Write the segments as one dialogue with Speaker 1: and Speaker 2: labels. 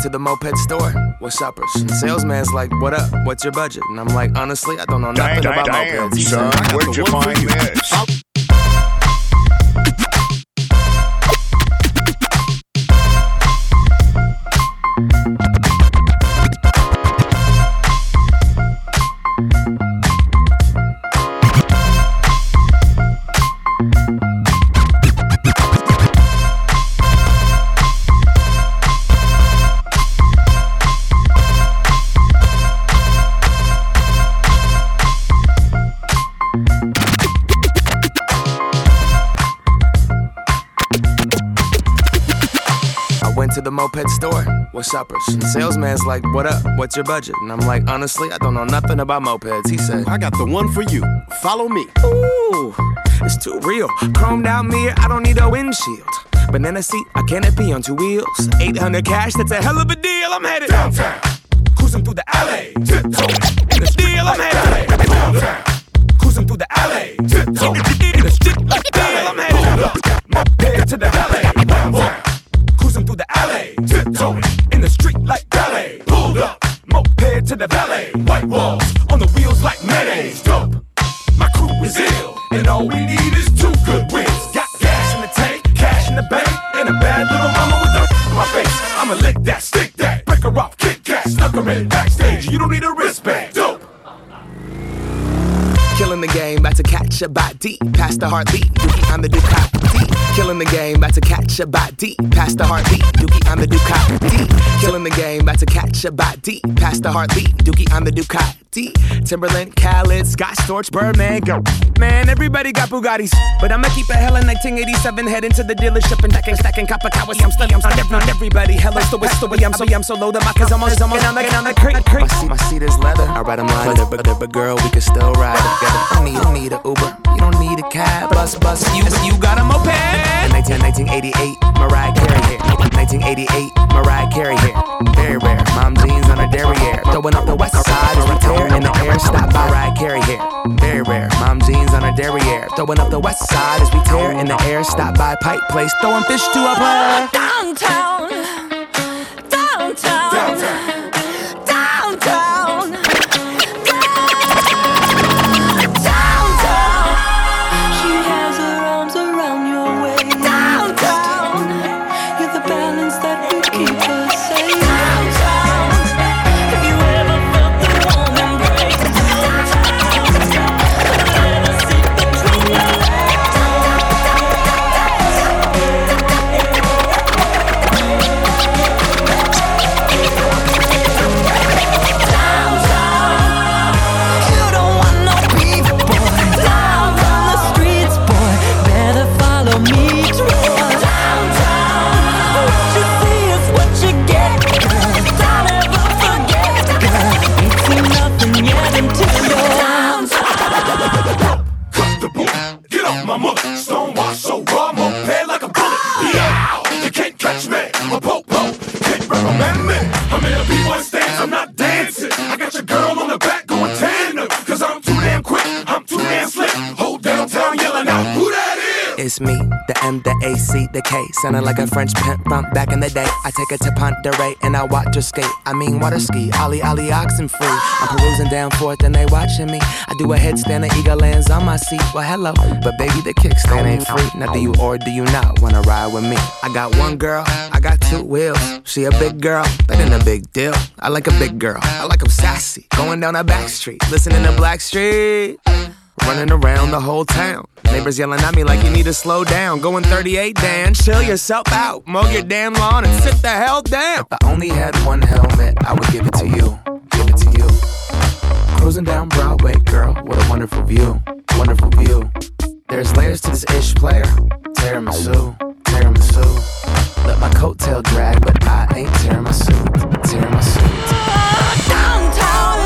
Speaker 1: to the moped store with suppers. And the salesman's like, what up? What's your budget? And I'm like, honestly, I don't know nothing about mopeds. He
Speaker 2: son,
Speaker 1: said,
Speaker 2: where'd you find this?
Speaker 1: To the moped store with suppers. And the salesman's like, what up? What's your budget? And I'm like, honestly, I don't know nothing about mopeds. He said,
Speaker 3: I got the one for you. Follow me.
Speaker 1: Ooh, it's too real. Chromed out mirror, I don't need a windshield. Banana seat, a canopy on two wheels. 800 cash, that's a hell of a deal. I'm headed
Speaker 4: downtown, cruising through the alley, tiptoeing in the
Speaker 1: deal. I'm headed
Speaker 4: downtown, cruising through the alley, tiptoeing in the street like
Speaker 1: deal. I'm headed
Speaker 4: moped to the alley, downtown. Cruising through the alley, tiptoeing in the street like ballet. Pulled up, moped to the valet. White walls on the wheels like mayonnaise. Dope, my crew is ill, and all we need is two good wins. Got gas in the tank, cash in the bank, and a bad little mama with a in my face. I'ma lick that, stick that, break her off, kick cat, snuck her in backstage. You don't need a wristband. Dope.
Speaker 1: Killing the game, about to catch a body. Past the heartbeat, Dookie on the Ducati. Killing the game, about to catch a body. Past the heartbeat, Dookie on the Ducati. Killing the game, about to catch a body. Past the heartbeat, Dookie on the Ducati. Timberland, Khaled, Scott Storch, Birdman, go. Man, everybody got Bugattis, but I'ma keep a hella 1987. Heading to the dealership and stacking copper cowards. I'm studying on everybody. Hella story. I'm so low that my cause I'm on the creek. My seat is leather. I ride 'em line, but girl, we can still ride together. You need a Uber, you don't need a cab. Bus, you got a moped. 1988, Mariah Carey here. 1988, Mariah Carey here. Very rare, mom jeans on her derriere. Throwing up the west side as we tear in the air. Stop by Mariah Carey here. Very rare, mom jeans on her derriere. Throwing up the west side as we tear in the air. Stop by Pike Place, throwing fish to a player.
Speaker 5: Downtown.
Speaker 1: It's me, the M, the A, C, the K. Sounding like a French pimp from back in the day. I take her to Ponderay and I watch her skate. I mean water ski, ollie, oxen free. I'm perusing down forth and they watching me. I do a headstand, the eagle lands on my seat. Well, hello, but baby, the kickstand ain't free. Now do you or do you not wanna ride with me? I got one girl, I got two wheels. She a big girl, that ain't a big deal. I like a big girl, I like 'em sassy. Going down a back street, listening to Blackstreet. Running around the whole town. Neighbors yelling at me like you need to slow down. Going 38, Dan, chill yourself out. Mow your damn lawn and sit the hell down. If I only had one helmet, I would give it to you. Give it to you. Cruising down Broadway, girl, what a wonderful view. Wonderful view. There's layers to this ish player. Tiramisu, tiramisu. Let my coattail drag, but I ain't tiramisu. Tiramisu.
Speaker 5: Downtown.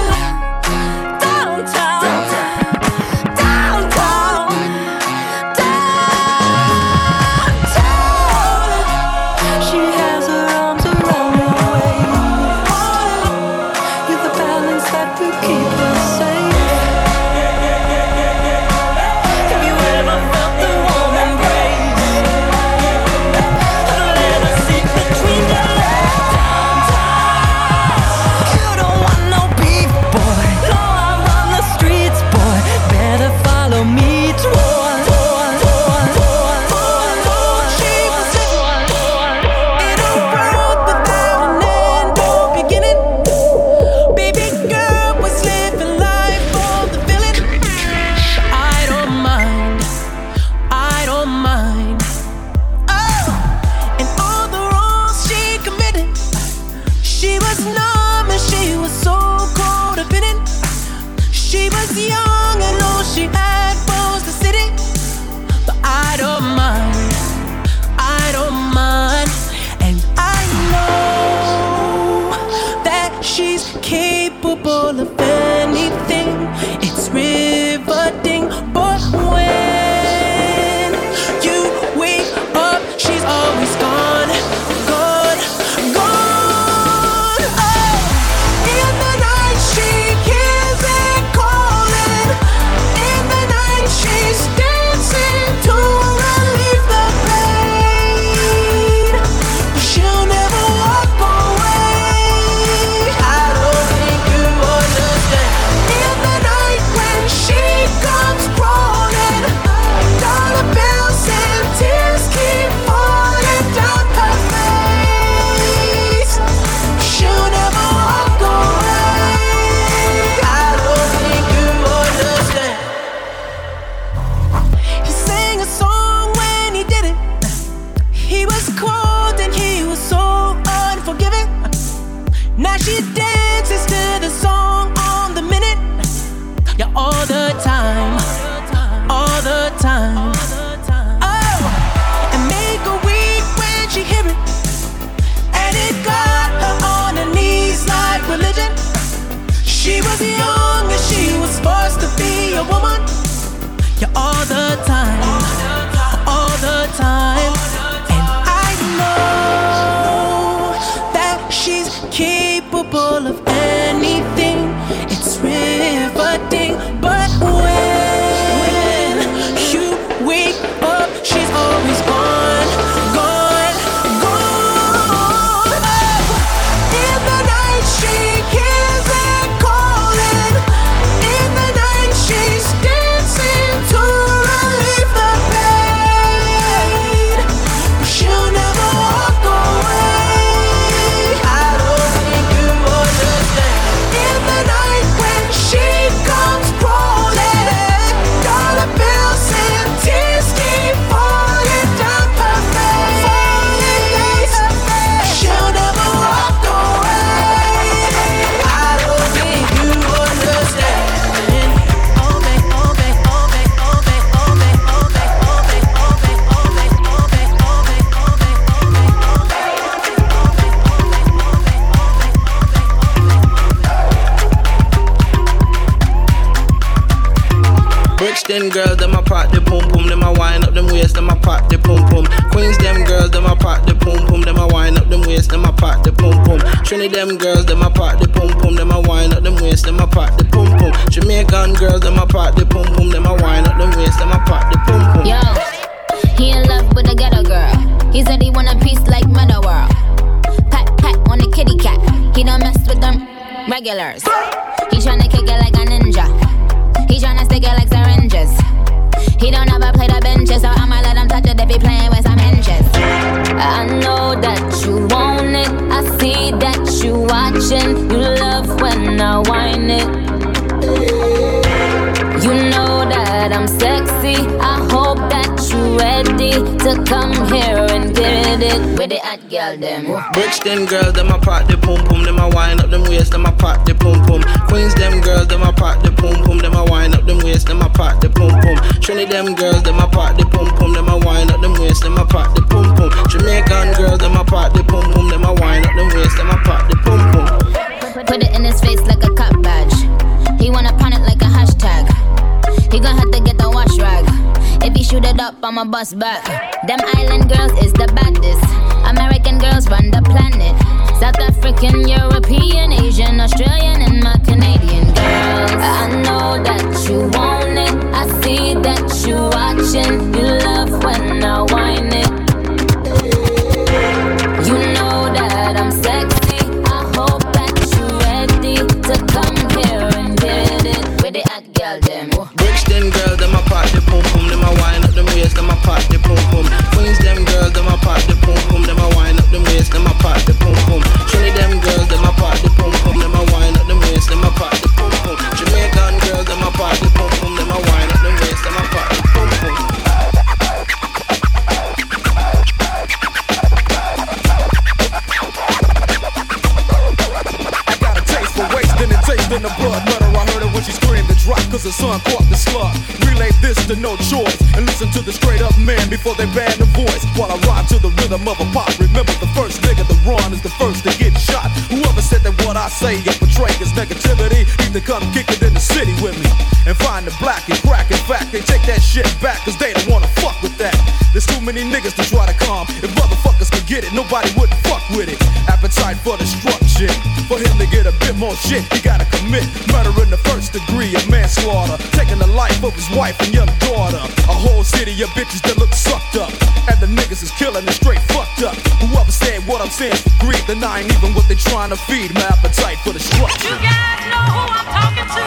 Speaker 5: was young and all she had was the city. But I don't mind, I don't mind. And I know that she's capable of anything. It's riveting, but when you wake up, she's always gone, gone, gone. Oh, in the night she hears it calling. In the night she's dancing to relieve the pain. She'll never walk away. I don't think you understand. In the night when she comes crawling, dollar bills and tears keep falling down her face. She'll never walk away. I don't think you understand. He sang a song when he did it. He was cold and he was so unforgiving. Now she dances to the song on the minute. Yeah, all the time, all the time. Oh, and make a week when she hear it. And it got her on her knees like religion. She was young and she was forced to be a woman. Yeah, all the time, all the time. And I know that she's capable of anything. It's riveting, but when you wake up, she's always gone, gone, gone. Oh, in the night she hears it calling. In the night she's dancing to relieve the pain. She'll never walk away. I don't think you understand. In the night when she comes crawling, dollar bills and tears keep falling down her face. She'll never walk away. I don't think you understand. Oh, babe, oh, babe, oh, babe, oh, babe, oh, babe, oh, babe, oh, babe, oh, babe, oh, babe, oh, babe, oh, babe, oh,
Speaker 6: Brixton girls, them a pop the pum pum, them a wind up them waist, them a pop the pum pum. Queens, them girls, them a pop the pum pum, them a wind up them waist, them a pop the pum pum. Trinity, them girls, them a pop the pum pum, them a wind up them waist, them a pop the pum pum. Jamaican girls, them a pop the pum pum, them a wind up them waist, them a pop the pum pum.
Speaker 7: Yo, he in love with a ghetto girl. He said he want a piece like Meta World. Pat pat on the kitty cat. He don't mess with them regulars. He tryna kick it like a ninja. He tryna stick it like syringes. He don't ever play the benches, so I'ma let him touch it if he playing with some hinges. I know that you want it. I see that you watching. You love when I whine it. You know that I'm sexy. I hope that you ready to come here and get it with the hot girl them.
Speaker 6: Brixton girls, them a pop the pum pum, them a wind up them waist, them a pop the pum pum. Queens, them girls, them a pop the pum pum, them a wind up them waist, them a pop the pum pum. Trinity, them girls, them a pop the pum pum, them a wind up them waist, them a pop the pum pum. Jamaican girls, them a pop the pum pum, them a wind up them waist, them a pop the pum pum.
Speaker 7: Put it in his face like a cop badge. He wanna pawn it like a hashtag. He gon' have to get the wash rag. If he shoot it up, I'ma bust back. Them island girls is the baddest. American girls run the planet. South African, European, Asian, Australian, and my Canadian girls. I know that you want it. I see that you watching. You love when I whine it. You know that I'm sexy. I hope that you ready to come here and get it with the hot girl them.
Speaker 6: Brixton girls, them a pop the pum pum, them a wind up them waist, them a pop the pum pum. Queens, them girls, them a pop the pum pum, them a wind up them waist, them a pop the pum pum. Trinity, them girls, them a pop the pum pum, them a wind up them waist, them a pop the pum pum. Jamaica
Speaker 4: when she screamed to drop cause her son caught the slug. Relay this to No Choice and listen to the straight up man before they ban the voice. While I rhyme to the rhythm of a pop, remember the first nigga to run is the first to get shot. Whoever said that what I say and portray is negativity need to come kick it in the city with me and find the black and crack. In fact, they take that shit back cause they don't wanna fuck with that. There's too many niggas to try to calm. If motherfuckers could get it, nobody wouldn't fuck with it. Appetite for destruction. For him to get a bit more shit, he gotta commit murder in the first degree of manslaughter, taking the life of his wife and young daughter. A whole city of bitches that look sucked up, and the niggas is killing it straight fucked up. Whoever said what I'm saying for greed, then I ain't even what they trying to feed. My appetite for destruction.
Speaker 5: You guys know who I'm talking to?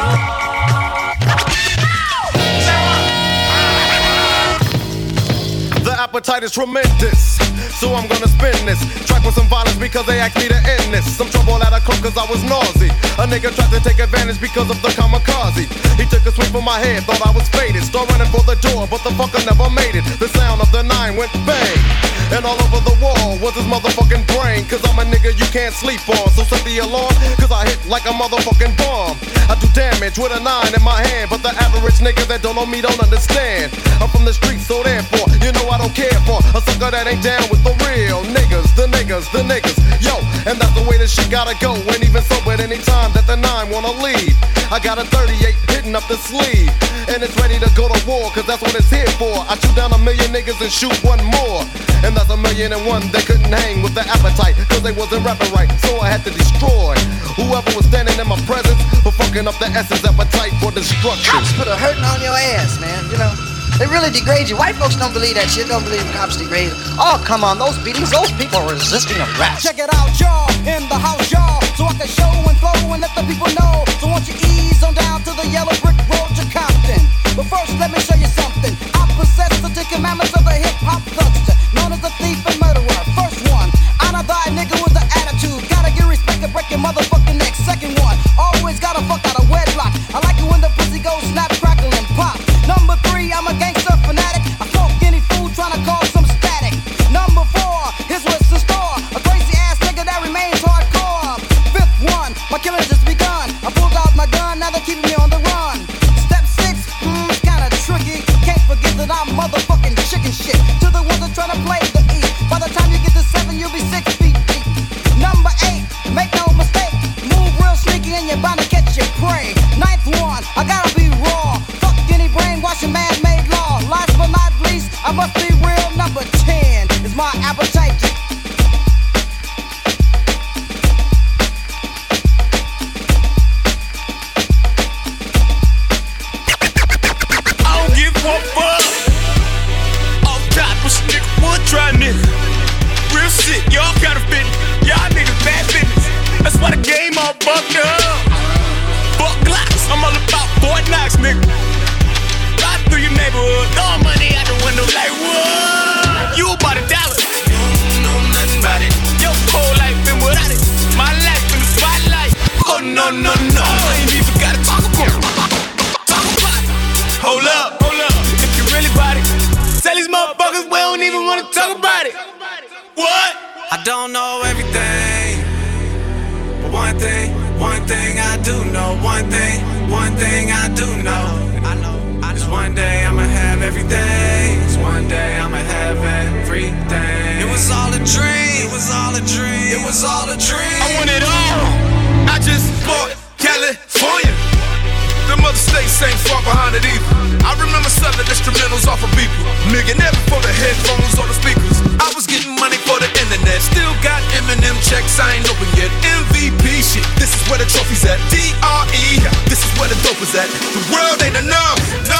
Speaker 8: The appetite is tremendous, so I'm gonna spin this track with some violence because they asked me to end this. Some trouble at a club cause I was nauseous. A nigga tried to take advantage because of the kamikaze. He took a swing from my head, thought I was faded. Start running for the door, but the fucker never made it. The sound of the 9 went bang, and all over the wall was his motherfucking brain. Cause I'm a nigga you can't sleep on, so set the alarm, cause I hit like a motherfucking bomb. I do damage with a 9 in my hand, but the average nigga that don't know me don't understand. I'm from the streets, so therefore, you know I don't care for a sucker that ain't down with the real niggas, the niggas, the niggas. Yo, and that's the way this shit gotta go. And even so, at any time that the 9 wanna leave, I got a 38 hitting up the sleeve, and it's ready to go to war, cause that's what it's here for. I shoot down 1 million niggas and shoot one more, and that's 1,000,001 that couldn't hang with the appetite, cause they wasn't rapping right, so I had to destroy whoever was standing in my presence for fucking up the essence appetite for destruction.
Speaker 9: Cops put a hurting on your ass, man, you know. They really degrade you. White folks don't believe that shit, don't believe cops degrade. Oh, come on, those beatings, those people are resisting arrest.
Speaker 5: Check it out, y'all, in the house, y'all, so I can show and flow and let the people know. So won't you ease on down to the yellow brick road to Compton. But first, let me show you something. I possess the 10 commandments of the hip-hop thugster, known as the thief and murderer. First one, honor thy nigga with the attitude. Gotta get respect and break your motherfucking neck. Second one, always gotta fuck out of wedlock. I like it when the pussy goes snap, crackle, and pop. Number 3, I'm a gangster fanatic. I smoke any food trying to cause some static. Number 4, here's what's in store. A crazy ass nigga that remains hardcore. Fifth one, my killing just begun. I pulled out my gun, now they're keeping me on the run. Step 6, it's kinda tricky. Can't forget that I'm motherfucking chicken shit. To the ones that try to play the E. By the time you get to 7, you'll be 6 feet deep. Number 8, make no mistake. Move real sneaky and you're bound to catch your prey. Ninth one, I gotta be raw. Fuck any brainwashing man-made law. Last but not least, I must be real. Number 10 is my appetite.
Speaker 4: I don't give a fuck. Off top, push nigga, would try nigga. Real shit, y'all counterfeit. Y'all niggas bad business. That's why the game all bugged up. Fuck Glocks, I'm all about Fort Knox, nigga. Ride through your neighborhood, throwing money out the window like what? You about $1. You don't know nothing about it. Your whole life been without it. My life in the spotlight. Oh no, no, no, I ain't even gotta talk about it. Talk about it. Hold up, if you really about it, tell these motherfuckers we don't even wanna talk about it. What?
Speaker 10: I don't know everything, but one thing I do know. One thing I do know. Is one day I'ma have everything. Is one day I'ma have everything. It was all a dream. It was all a dream. It was all a dream.
Speaker 4: I want it all. I just bought California. The mother states ain't far behind it either. I remember selling instrumentals off of people. Nigga, never for the headphones or the speakers. I was getting money for the internet. Still got Eminem checks, I ain't open yet. MVP shit, this is where the trophy's at. DRE, this is where the dope is at. The world ain't enough, no.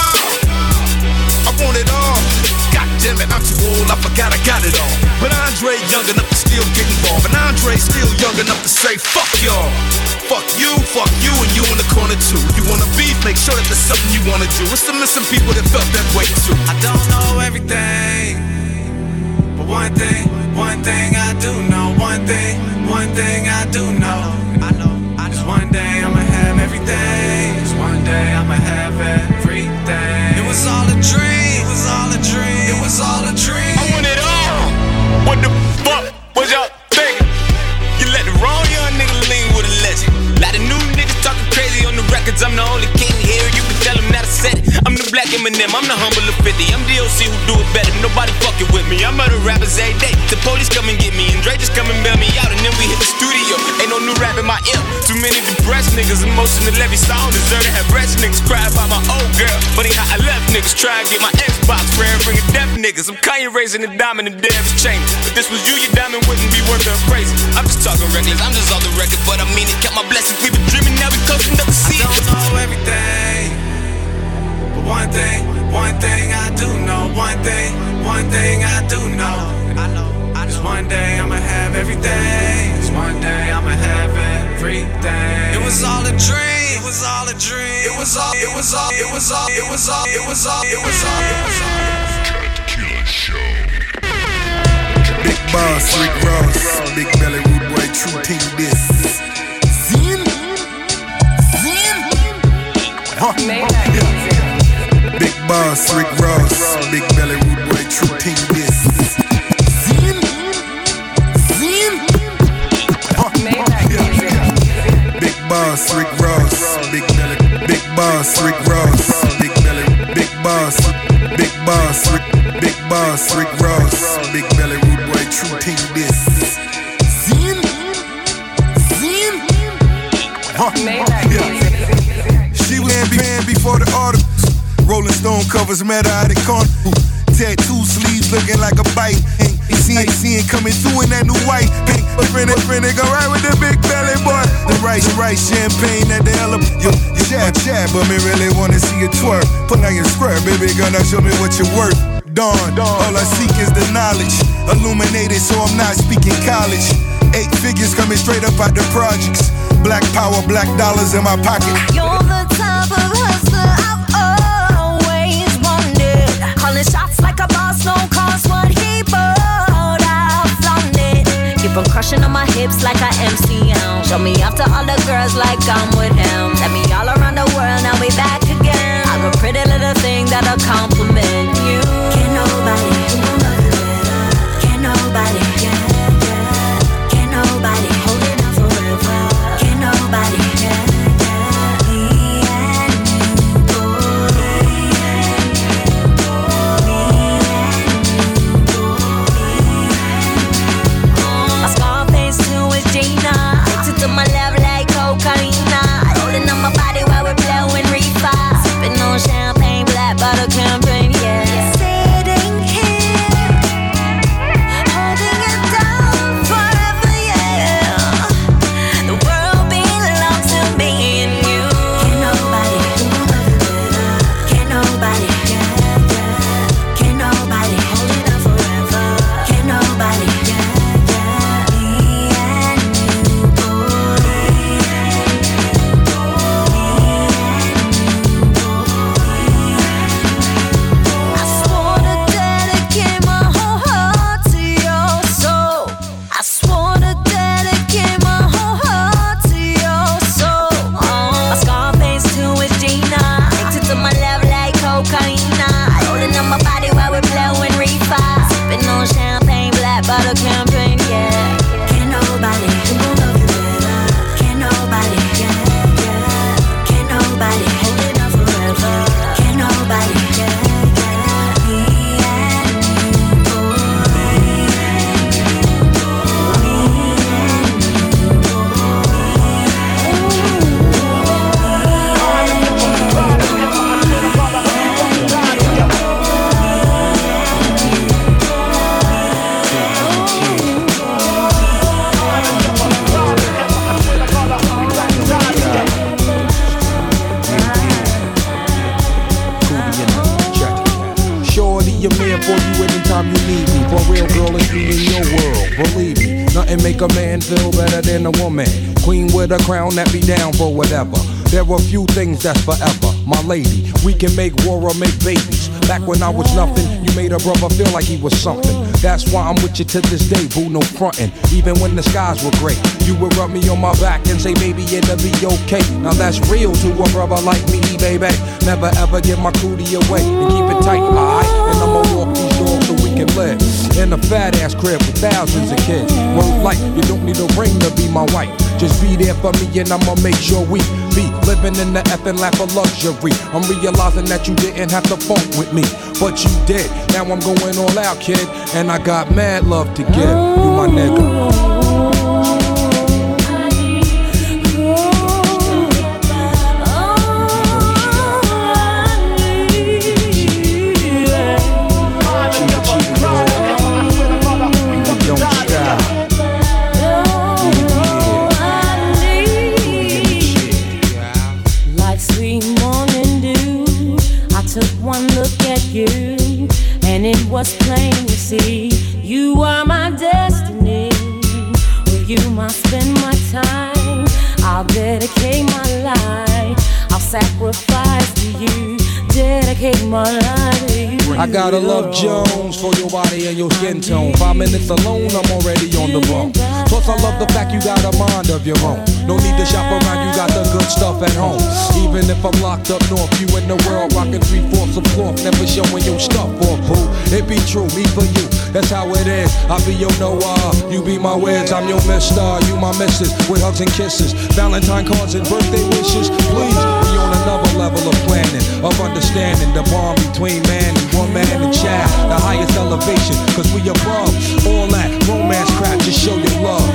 Speaker 4: I want it all. God damn it, I'm too old, I forgot I got it all. But Andre young enough to still get involved. And Andre still young enough to say, fuck y'all. Fuck you, and you in the corner too. You wanna beef, make sure that there's something you wanna do. It's the missing people that felt that way too.
Speaker 10: I don't know everything, but one thing I do know. One thing I do know. Is one day I'ma have everything. Is one day I'ma have everything. It was all a dream. It was all a dream. It was all a dream.
Speaker 4: I want it all. What the fuck was y'all thinking? You let the wrong young nigga lean with a legend. Lot of new niggas talking crazy on the records. I'm the only king.
Speaker 11: can't hear, you can tell him not to set it. I'm the black Eminem, I'm the humble of 50. I'm DOC who do it better, nobody fucking with me. I murder rappers every day, the police come and get me, and Dre just come and bail me out, and then we hit the studio. Ain't no new rap in my ear. Too many depressed niggas, emotional levy, so I don't deserve to have rest niggas cry about my old girl. Funny how I left niggas, try and get my Xbox rare, bring a deaf niggas. I'm Kanye raising the diamond and Dev's chain. If this was you, your diamond wouldn't be worth the appraisal. I'm just talking reckless, I'm just off the record, but I mean it. Count my blessings, we been dreaming, now we coasting up the sea.
Speaker 10: I don't know everything, but one thing I do know. One thing I do know. I know. Just one day I'ma have everything. Just one day I'ma have everything. It was all a dream. It was all a dream. It was all.
Speaker 12: Big boss, Rick Ross, big belly, rude boy, true team this. Zin? Huh? Big boss, Rick Ross, big belly, rude boy, true team this. Zin? Huh? Big boss, Rick Ross, big belly, big boss, Rick Ross, big belly, big boss, Rick Ross, big belly, rude boy, true team this. Zin? Huh? She was banned before the articles. Rolling Stone covers met her at the corner. Tattoo sleeves looking like a bite. Seeing coming through in that new white. But friend go right with the big belly boy. The right champagne at the element. You chat, but me really wanna see you twerk. Put on your square, baby girl, now show me what you're worth. Dawn, all I seek is the knowledge. Illuminated, so I'm not speaking college. 8 figures coming straight up out the projects. Black power, black dollars in my pocket.
Speaker 13: You're the type of hustler I've always wanted. Calling shots like a boss, no cost what he bought. I flaunt it. Keep on crushing on my hips like I MCM. Show me off to all the girls like I'm with him. Let me all around the world, now we back again. I'm a pretty little thing that'll compliment you. Can't nobody do nothing better. Can't nobody, can't nobody hold it down forever. Can't nobody, me and you, boy. My Scarface too is Gina. Addicted to my love like cocaine. Rolling on my body while we're blowing reefer. Sipping on champagne, black bottle campaign, yeah. Sitting here, holding it down forever, yeah. The world belongs to me and you. Can't nobody do nothing better. Can't nobody, can't nobody hold it down forever. Can't nobody, me and you, boy. I swore to dedicate my whole heart to your soul. I swore to dedicate my whole heart to your soul. My Scarface too is Gina. Addicted to my love like cocaine. Rolling on my body while we're blowing reefer. Sipping on champagne, black bottle campaign, yeah. Can't nobody do nothing better. Can't nobody, can't nobody hold it down forever. Can't nobody, me and you,
Speaker 14: Shorty, I'm here for you anytime you need me. For real, girl, it's me in your world. Believe me, nothing make a man feel better than a woman. Queen with a crown that be down for whatever. There are few things that's forever. My lady, we can make war or make babies. Back when I was nothing, you made a brother feel like he was something. That's why I'm with you to this day, boo, no frontin'. Even when the skies were gray, you would rub me on my back and say, baby, it'll be okay. Now that's real to a brother like me, baby. Never ever give my cootie away and keep it tight, alright? And I'ma walk these doors so we can live in a fat ass crib with thousands of kids. Word like you don't need a ring to be my wife. Just be there for me and I'ma make sure we be living in the effing lap of luxury. I'm realizing that you didn't have to funk with me, but you did. Now I'm going all out, kid, and I got mad love to give. You my nigga.
Speaker 13: It was plain to see you are my destiny. With you I spend my time. I'll dedicate my life. I'll sacrifice to you. Dedicate my life to you.
Speaker 14: I gotta love Jones for your body and your skin tone. 5 minutes alone, I'm already on the bone. Plus I love the fact you got a mind of your own. No need to shop around, you got the good stuff at home. Even if I'm locked up north, you in the world rocking 3/4 of cloth, never showing your stuff off, boo. It be true, me for you, that's how it is. I be your Noah, you be my Wiz, I'm your mister, you my missus, with hugs and kisses, Valentine cards and birthday wishes. Please, we on another level of planning, of understanding the bond between man and woman and child, the highest elevation, cause we above all that romance crap, just show your love.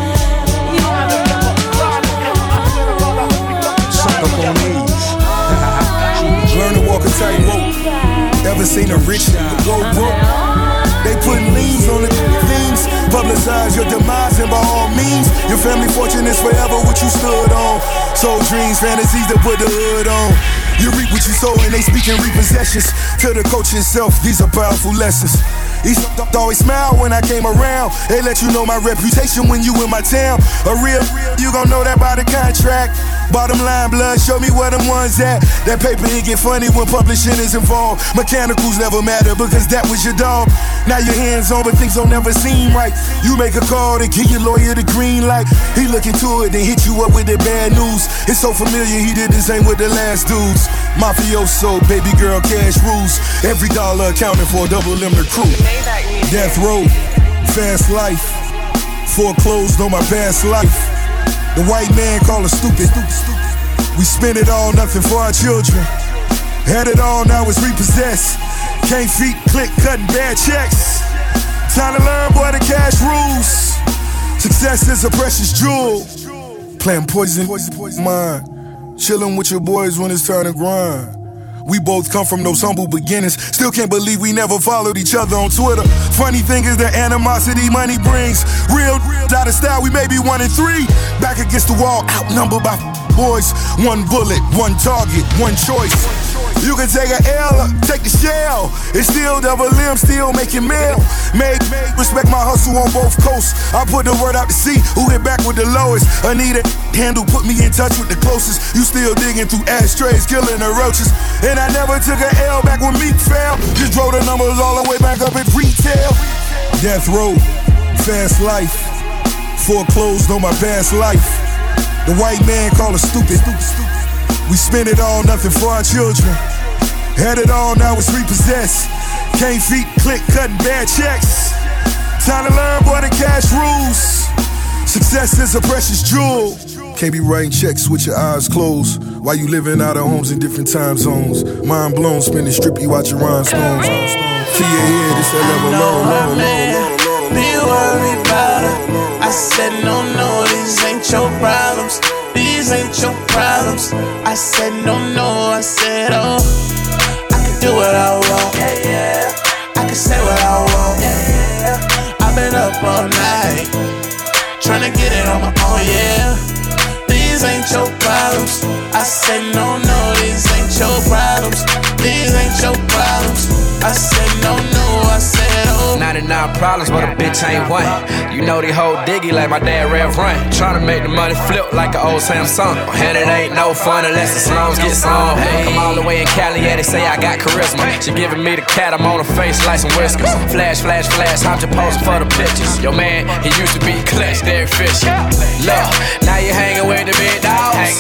Speaker 12: Learn to walk a tightrope. Ever seen a rich nigga go broke? They putting liens on the things. Publicize your demise and by all means, your family fortune is forever what you stood on. Soul dreams, fantasies that put the hood on. You reap what you sow and they speaking repossessions. To the coach itself, these are powerful lessons. He always smile when I came around. They let you know my reputation when you in my town. A real, you gon' know that by the contract. Bottom line, blood, show me where them ones at. That paper, it get funny when publishing is involved. Mechanicals never matter because that was your dog. Now your hands on, but things don't never seem right. You make a call to give your lawyer the green light. He look into it, then hit you up with the bad news. It's so familiar, he did the same with the last dudes. Mafioso, baby girl, cash rules. Every dollar accounted for, double them the crew. Death row, fast life. Foreclosed on my past life. The white man call us stupid. We spend it all, nothing for our children. Had it all, now it's repossessed. Can't feet click, cutting bad checks. Time to learn, boy, the cash rules. Success is a precious jewel. Playing poison, mind. Chilling with your boys when it's time to grind. We both come from those humble beginnings. Still can't believe we never followed each other on Twitter. Funny thing is the animosity money brings. Real out of style, we may be 1 and 3. Back against the wall, outnumbered by boys. One bullet, one target, one choice. You can take an L or take the shell. It's still double M, still making mail. Made, respect my hustle on both coasts. I put the word out to see who hit back with the lowest. Anita handle put me in touch with the closest. You still digging through ashtrays, killing the roaches. And I never took an L back when Meek fell. Just drove the numbers all the way back up at retail. Death row, fast life. Foreclosed on my past life. The white man call us stupid. We spend it all, nothing for our children. Had it all, now it's repossessed. Can't feet click, cutting bad checks. Time to learn, boy, the cash rules. Success is a precious jewel. Can't be writing checks with your eyes closed while you living out of homes in different time zones. Mind blown, spinning strippy, watching rhinestones. To your head, it's that level low.
Speaker 15: Be worried about it. I said no, these ain't your problems. These ain't your problems. I said no, I said oh. I can do what I want. I can say what I want. I've been up all night tryna get it on my own, yeah. These ain't your problems. I said no, these ain't your problems. These ain't your problems. I said no, I said oh.
Speaker 16: 99 problems, but a bitch ain't one. You know they hold diggy like my dad Rev Run. Tryna make the money flip like an old Samsung. And it ain't no fun unless the slums get some. Come all the way in Cali, yeah, they say I got charisma. She giving me the cat, I'm on her face like some whiskers. Flash, flash, flash, I'm just posing for the pictures. Yo man, he used to be clutch, Derek Fisher. Look, now you hanging with the big dogs.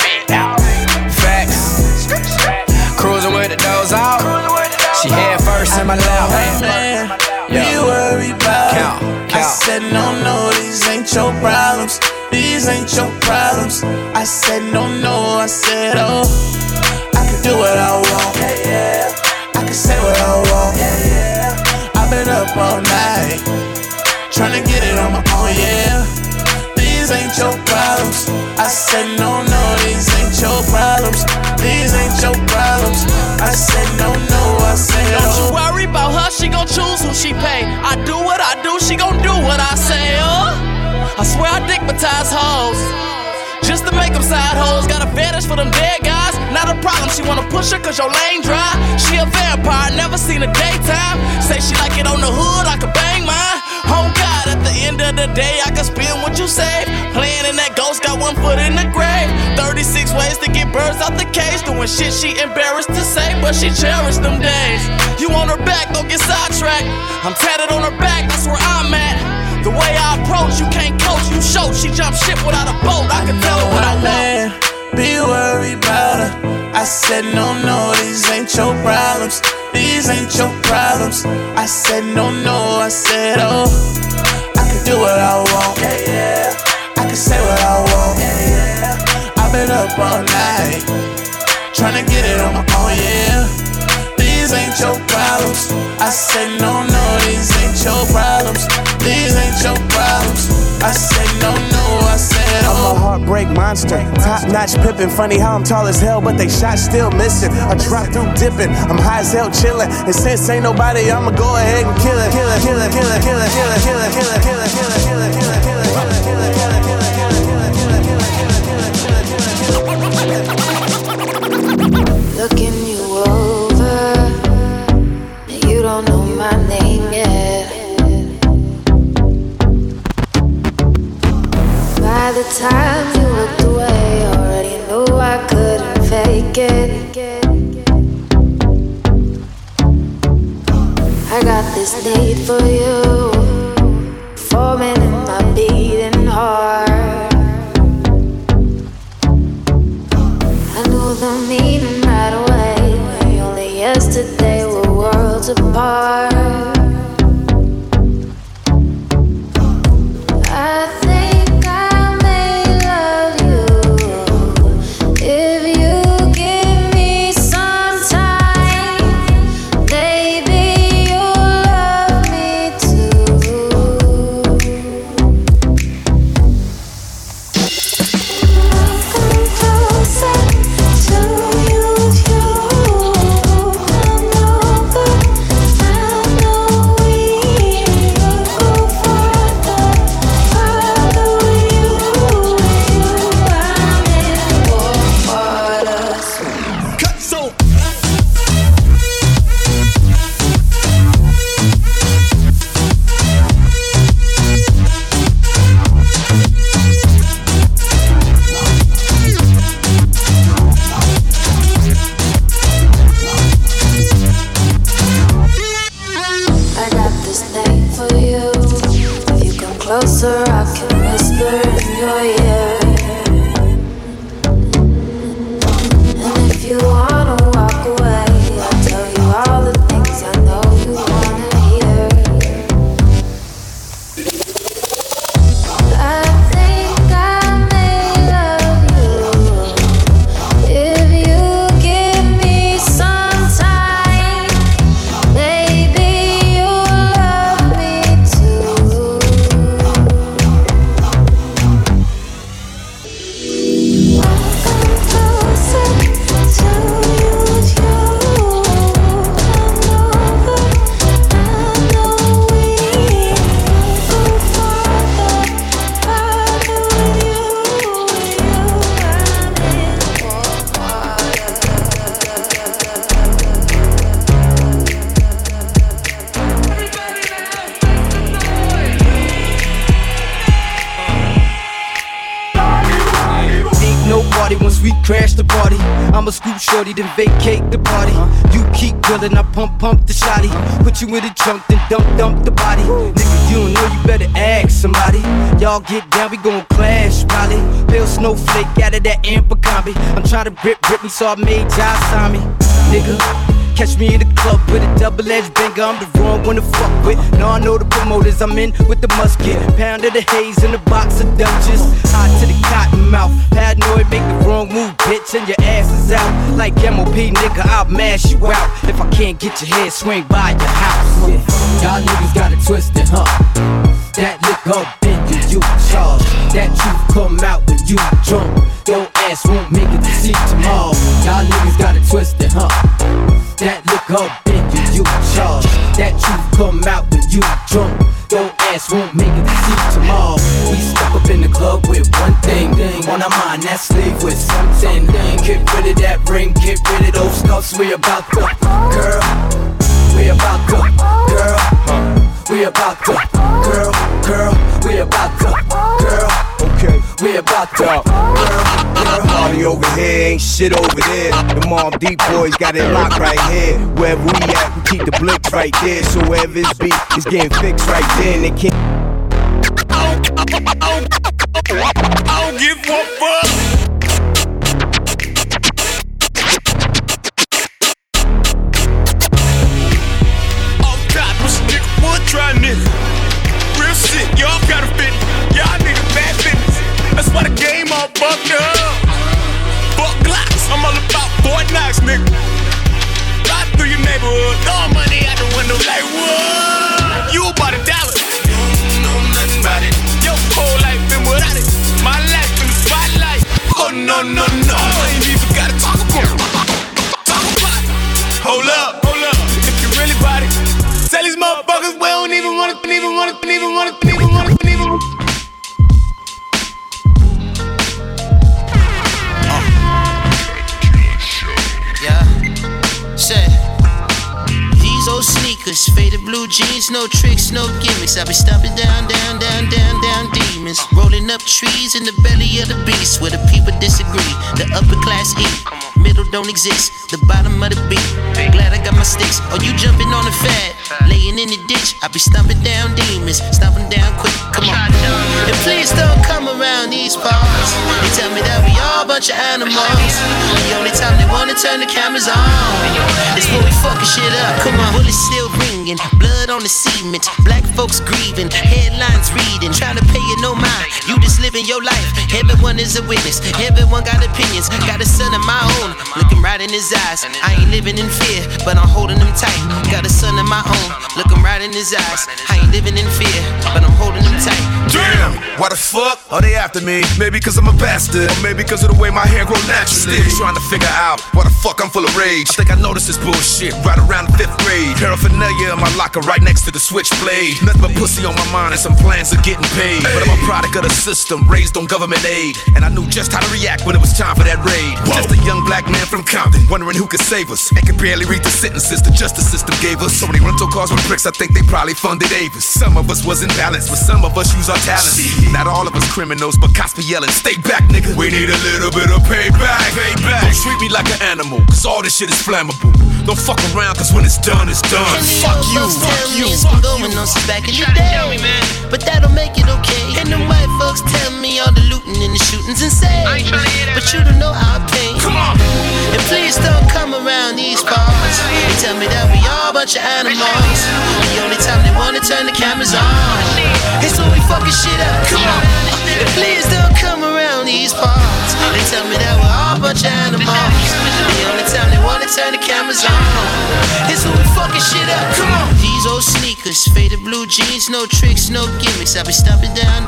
Speaker 16: Facts. Cruising with the doors out. She head first in my lap.
Speaker 15: Hey man, be worried about it. I said no, these ain't your problems. These ain't your problems. I said no, I said oh. I can do what I want, I can say what I want, I've been up all night, tryna get it on my own, These ain't your problems. I said no, these ain't your problems. These ain't your problems. I said no, I said oh.
Speaker 17: Don't you worry about her, she gon' choose who she pay. I do what I do, she gon' do what I say, I swear I dickmatize hoes just to make them side hoes. Got a fetish for them dead guys, not a problem. She wanna push her cause your lane dry. She a vampire, never seen a daytime. Say she like it on the hood, I could bang mine. Oh God, at the end of the day, I can spend what you save. Playing in that ghost, got one foot in the grave. 36 ways to get birds out the cage. Doing shit she embarrassed to say, but she cherished them days. You on her back, don't get sidetracked. I'm tatted on her back, that's where I'm at. The way I approach, you can't coach, you show. She jump ship without a boat, I can tell her what I want.
Speaker 15: Be worried about her. I said no, these ain't your problems. These ain't your problems. I said no, I said oh. I can do what I want, I can say what I want, I've been up all night, tryna get it on my own, These ain't your problems. I said no, these ain't your problems. These ain't your problems. I said no, I said oh.
Speaker 18: I'm a heartbreak monster, top-notch pimpin'. Funny how I'm tall as hell, but they shot still missing. I drop through dipping, I'm high as hell chillin'. And since ain't nobody, I'ma go ahead and kill it. Kill it, kill it, kill it, kill it, kill it, kill it, kill it, kill it, kill it, kill it, kill it, kill it, kill it, kill it, kill it, kill it, kill it, kill it.
Speaker 13: Looking you over, you don't know my name yet. By the time you looked away, already knew I couldn't fake it. I got this need for you, forming in my beating heart. I knew the meaning right away, we only yesterday were worlds apart. I think I may love you if you give me some time. Maybe you'll love me too. Come closer to you, come over. I know we go farther with you. I'm in for waters.
Speaker 4: Cut so.
Speaker 13: I got this thing for you. If you come closer, I can whisper in your ear. And if you wanna walk away, I'll tell you all the things I know you wanna hear. I think I may love you if you give me some time. Maybe you'll love me too. Come closer to you, come over. I know we go farther with you. I'm in for
Speaker 19: Ain't no party once we crash the party. I'ma scoop shorty, then vacate the party. You keep grilling, I pump the shotty. Put you in the trunk, then dump the body. Nigga, you don't know, you better ask somebody. Y'all get down, we gon' clash, probably. Pale snowflake out of that amber combi. I'm tryna grip me, so I made Josh sign me. Nigga, Catch me in the club with a double-edged banger, I'm the wrong one to fuck with. Now I know the promoters, I'm in with the musket. Pound of the haze in a box of Dutchess. Hot to the cotton mouth, paranoid, make the wrong move, bitch, and your ass is out. Like MOP, nigga, I'll mash you out. If I can't get your head, swing by your house. Yeah. Y'all niggas got it twisted, huh? That liquor then you charge. That truth come out when you drunk. Your ass won't make it to see tomorrow. Y'all niggas got it twisted, huh? That liquor then you charge. That truth come out when you drunk. Your ass won't make it to see tomorrow. We step up in the club with one thing on our mind, that's leave with something. Get rid of that ring, get rid of those scuffs. We about to, girl. We about to, girl. We about to, girl. We about to, girl.
Speaker 20: Okay.
Speaker 19: We about to, girl.
Speaker 20: Party over here, ain't shit over there. The Mobb Deep boys got it locked right here. Wherever we at, we keep the blicks right there. So wherever it's beat, it's getting fixed right there. And they can't.
Speaker 11: I don't give one fuck. Try nigga, real shit, y'all gotta fit. Y'all niggas bad business. That's why the game all fucked up. Fuck Glocks, I'm all about Fort Knox, nigga. Ride through your neighborhood, throw money out the window like what? You about $1. You don't know nothing about it. Your whole life been without it. My life in the spotlight. Oh no no no, I ain't even gotta talk about it. Talk about it. Hold up, if you really about it. Tell these motherfuckers we don't even wanna.
Speaker 21: Yeah, say these old sneakers, faded blue jeans, no tricks, no gimmicks. I be stomping down demons, rolling up trees in the belly of the beast where the people disagree. The upper class eat, middle don't exist, the bottom of the beat. Glad I got my sticks. Oh, you jumping on the fat, laying in the ditch. I be stomping down demons, stomping down quick. Come on, and please don't come around these parts. They tell me that we all a bunch of animals. The only time they wanna turn the cameras on is when we fucking shit up. Come on, bullets still ringing, blood on the cement, black folks grieving, headlines reading, trying to pay you no mind. You just living your life. Everyone is a witness. Everyone got opinions. Got a son of my own, looking right in his eyes. I ain't living in fear, but I'm holding him tight. Got a son of my own, looking right in his eyes. I ain't living in fear, but I'm holding him tight.
Speaker 8: Damn, why the fuck are they after me? Maybe cause I'm a bastard, or maybe cause of the way my hair grow naturally. Still trying to figure out why the fuck I'm full of rage. I think I noticed this bullshit right around the 5th grade. Paraphernalia in my locker right next to the switchblade. Nothing but pussy on my mind and some plans of getting paid. But I'm a product of the system, raised on government aid, and I knew just how to react when it was time for that raid. Just a young black man from Compton, wondering who could save us, and could barely read the sentences the justice system gave us. So many rental cars with bricks, I think they probably funded Avis. Some of us was in balance, but some of us use our talents. Not all of us criminals, but cops be yelling, stay back, nigga. We need a little bit of payback. Don't treat me like an animal, cause all this shit is flammable. Don't fuck around, cause when it's done, it's done. Fuck you, fuck you.
Speaker 21: It's been going on since back in the day, but that don't make it okay. And them white folks tell me all the looting and the shootings insane, but you don't know our pain.
Speaker 11: Come on.
Speaker 21: And please don't come around these parts. They tell me that we all a bunch of animals. The only time they wanna turn the cameras on is when we fucking shit up. Come on. And please don't come around these parts. They tell me that we're all a bunch of animals. The only time they wanna turn the cameras on is when we fucking shit up. Come on. These old sneakers, faded blue jeans, no tricks, no gimmicks. I be stomping down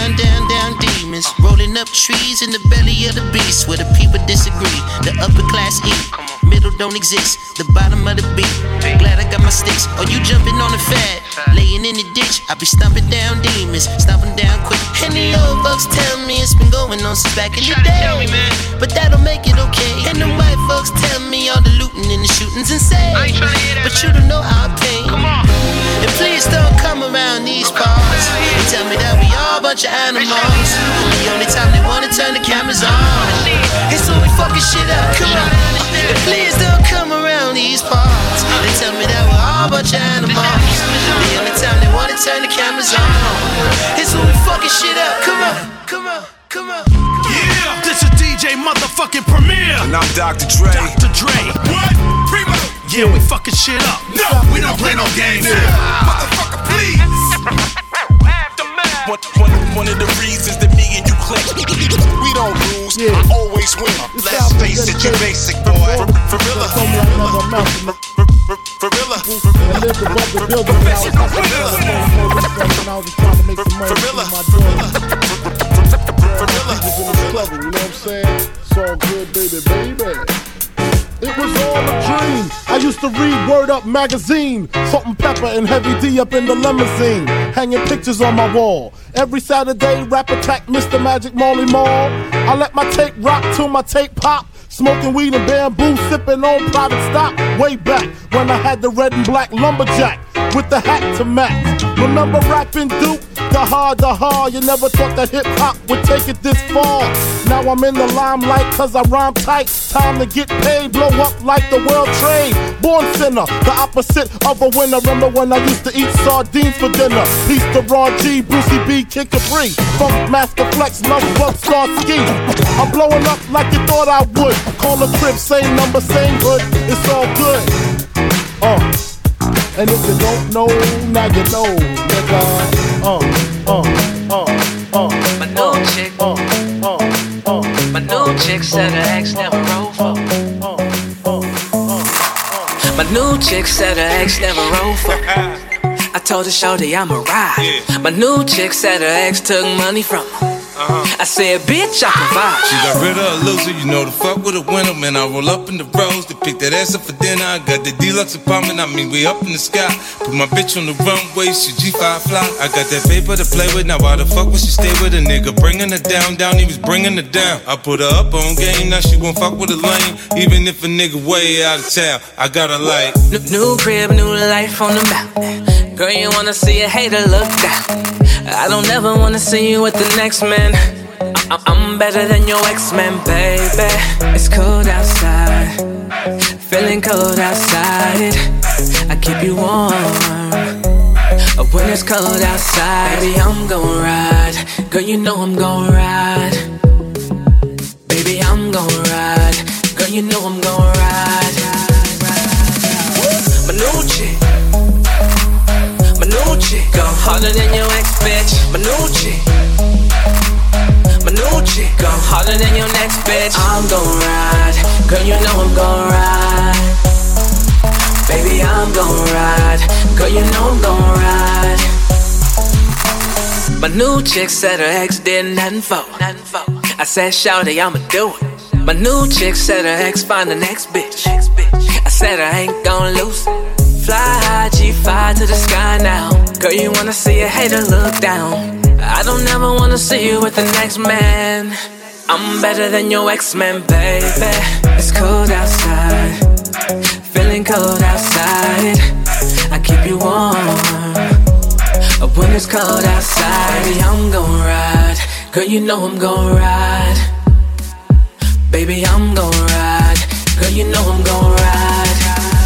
Speaker 21: demons, rolling up trees in the belly of the beast where the people disagree. The upper class eat, middle don't exist, the bottom of the beat. Glad I got my sticks. Oh, you jumping on the fat, laying in the ditch. I be stomping down demons, stomping down quick. And the old folks tell me it's been going on since back in the day, but that don't make it okay. And the white folks tell me all the looting and the shootings insane, but you don't know our pain. And please don't come around these parts. They tell me that we all a bunch of animals. The only time they wanna turn the cameras on is when we fucking shit up. Come on. And please don't come around these parts. They tell me that we're all a bunch of animals. The only time they wanna turn the cameras on is when we fucking shit up. Come on, come on, come on.
Speaker 4: Yeah, this is DJ motherfucking Premier.
Speaker 20: And I'm Dr. Dre.
Speaker 4: Dr. Dre. What? Primo.
Speaker 2: Yeah, we fucking shit up. No, we don't play no games. Motherfucker, please.
Speaker 15: One of the reasons that me and you click.
Speaker 2: We don't lose, I always win. Let's face it, you basic boy. For real.
Speaker 22: It's all good, baby. It was all a dream. I used to read Word Up magazine, Salt and Pepper and Heavy D up in the limousine, hanging pictures on my wall. Every Saturday, Rap Attack, Mr. Magic Molly Mall. I let my tape rock till my tape pop. Smoking weed and bamboo, sipping on private stock. Way back when I had the red and black lumberjack with the hat to match. Remember rapping Duke? The hard. You never thought that hip hop would take it this far. Now I'm in the limelight cause I rhyme tight. Time to get paid, blow up like the world trade. Born sinner, the opposite of a winner. Remember when I used to eat sardines for dinner? Peace to Ron G, Brucey B, Kid Capri, Funk Master Flex, Love Bug, Star Ski. I'm blowing up like you thought I would. Call a crib, same number, same hood. It's all good. And if you don't know, now you know, nigga.
Speaker 23: My new chick, my new chick said her ex never rolled for. My new chick said her ex never rolled for. I told her shorty I'ma ride. My new chick said her ex took money from her. I said, bitch, I provide.
Speaker 24: She got rid of a loser, you know the fuck with a winner. Man, I roll up in the rose to pick that ass up for dinner. I got the deluxe apartment, I mean, we up in the sky. Put my bitch on the runway, she G5 fly. I got that paper to play with, now why the fuck would she stay with a nigga? Bringing her down, he was bringing her down. I put her up on game, now she won't fuck with a lane. Even if a nigga way out of town, I got her like
Speaker 23: new crib, new life on the mountain. Girl, you wanna see a hater look down. I don't ever wanna see you with the next man. I'm better than your ex-man, baby. It's cold outside, feeling cold outside. I keep you warm when it's cold outside. Baby, I'm gon' ride. Girl, you know I'm gon' ride. Baby, I'm gon' ride. Girl, you know I'm gon' ride. My new chick, my new chick, go harder than your ex, bitch. My new chick, my new chick, go harder than your next bitch. I'm gon' ride, girl, you know I'm gon' ride. Baby, I'm gon' ride, girl, you know I'm gon' ride. My new chick said her ex did nothing for. I said, shawty, I'ma do it. My new chick said her ex find the next bitch. I said I ain't gon' lose it. Fly high, G5 to the sky now. Girl, you wanna see a hater look down. I don't ever wanna see you with the next man. I'm better than your ex-man, baby. It's cold outside, feeling cold outside. I keep you warm when it's cold outside. Baby, I'm gon' ride. Girl, you know I'm gon' ride. Baby, I'm gon' ride. Girl, you know I'm gon' ride.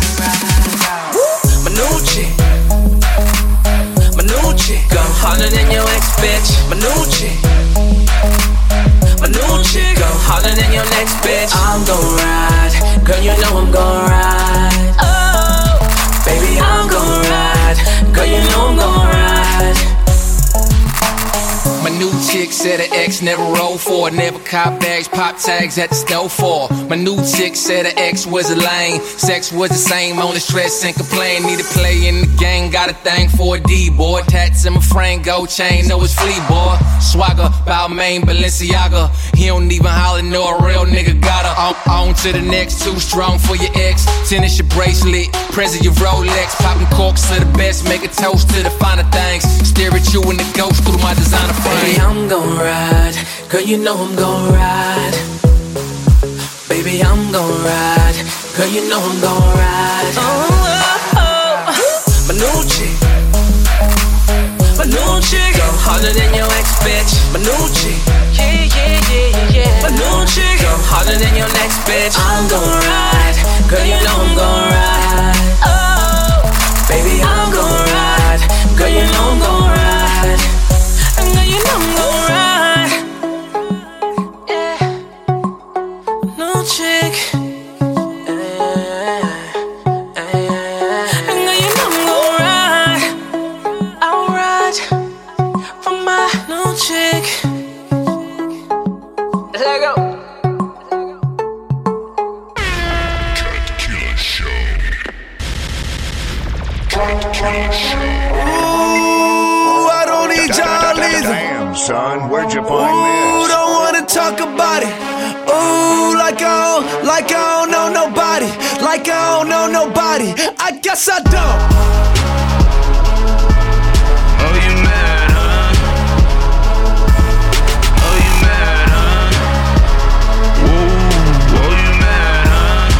Speaker 23: My new chick, my new chick, go harder than your ex, bitch. My new chick, my new chick, go harder than your next bitch. I'm gon' ride, girl, you know I'm gon' ride. Oh, baby, I'm gon' ride, girl, you know I'm gon' ride.
Speaker 16: My new chick said her ex never rolled for. Never cop bags, pop tags at the store for. My new chick said her ex was a lame. Sex was the same, only stress and complain. Need to play in the game, got a thing for a D-boy. Tats in my frame, gold chain, know it's flea boy. Swagger, Balmain, Balenciaga. He don't even holler, know a real nigga got her. On to the next, too strong for your ex. Tennis your bracelet, present your Rolex. Popping corks to the best, make a toast to the finer things. Stare at you and the ghost through my designer frame.
Speaker 23: Baby, I'm gon' ride, girl, you know I'm gon' ride. Baby, I'm gon' ride, girl, you know I'm gon' ride. My new chick, my new chick, go harder than your ex, bitch. My new chick, yeah. My new chick, go harder than your next bitch. I'm gon' ride, girl, you know I'm gon' ride. Oh, baby, I'm gon' ride, girl, you know I'm gon' ride. Girl, you know I'm gon' ride. Yeah. New chick.
Speaker 21: Ooh, I don't need y'all either.
Speaker 1: Damn, son, where'd you find
Speaker 21: Ooh,
Speaker 1: this?
Speaker 21: don't wanna talk about it. Ooh, like I don't know nobody. Like I don't know nobody. I guess I don't.
Speaker 10: Oh, you mad, huh? Oh, you mad, huh? Ooh, oh, you mad,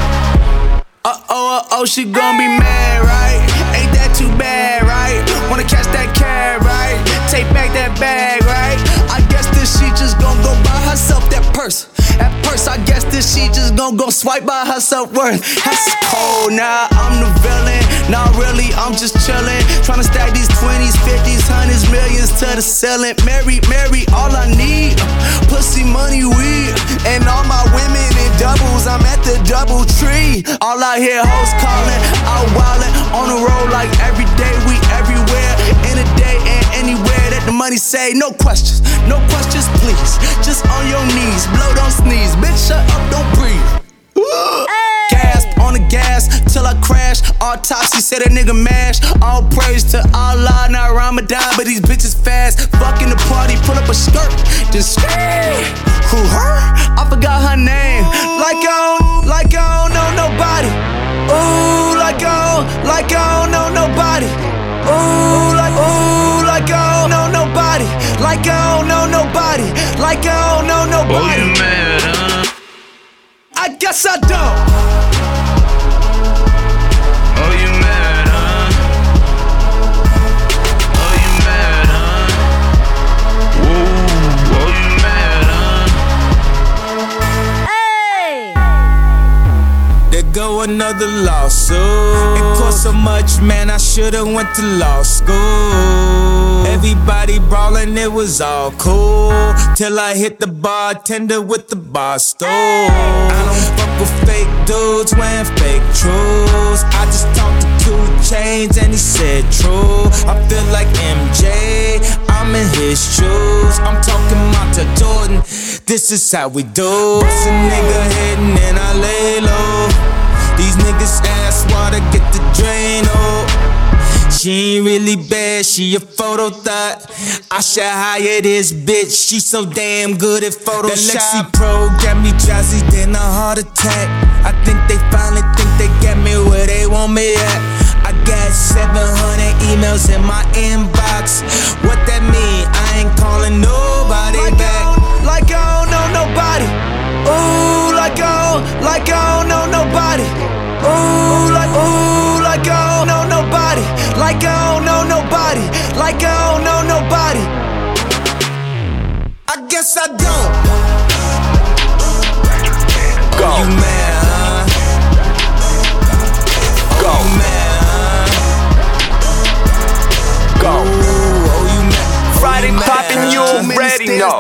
Speaker 10: huh?
Speaker 21: Oh, she gon' be mad, right? Ain't that too bad, right? Wanna catch that cab, right? Take back that bag, right? I guess this she just gon' go buy herself that purse. At first, I guess this she just gon' go swipe by her self-worth. That's cold, nah, I'm the villain. Nah, really, I'm just chillin'. Tryna stack these 20s, 50s, 100s, millions to the ceiling. Mary, all I need, pussy, money, weed. And all my women in doubles, I'm at the double tree. All I hear hoes callin', out wildin'. On the road like every day, we everywhere. In a day and anywhere that the money say. No questions, please. Just on your knees, blow, don't sneeze. Bitch, shut up, don't breathe. Gasp on the gas till I crash. Autopsy said a nigga mash. All praise to Allah, not Ramadan, but these bitches fast. Fucking the party, pull up a skirt, then scream. Who her? I forgot her name. Like I don't know nobody. Ooh, like I don't know nobody. Ooh, like I don't know nobody. Like I don't know nobody. Like I don't know nobody.
Speaker 10: Oh, you mad, huh?
Speaker 21: I guess I don't.
Speaker 10: Oh, you mad, huh? Oh, you mad, huh? Ooh, oh, you mad, huh?
Speaker 21: Hey! There go another lawsuit. It cost so much, man, I should've went to law school. Everybody brawling, it was all cool. Till I hit the bartender with the bar stool. I don't fuck with fake dudes wearing fake truths. I just talked to 2 Chainz and he said true. I feel like MJ, I'm in his shoes. I'm talking Monta Jordan, this is how we do. It's a nigga hitting and I lay low. These niggas ask water, get the drain, oh. She ain't really bad, she a photo thought. I should hire this bitch, she so damn good at Photoshop. That Lexi Pro got me drowsy, then a heart attack. I think they finally think they got me where they want me at. I got 700 emails in my inbox. What that mean? I ain't calling nobody back. Like I don't know nobody. Ooh, like I don't know nobody. Ooh, like I don't know nobody. Like I don't know nobody. Like I don't know nobody. I guess I don't. Go. Oh, you mad, huh? Go. Oh, you mad, huh? Go. Ooh, oh, you mad.
Speaker 3: Friday poppin', you already know.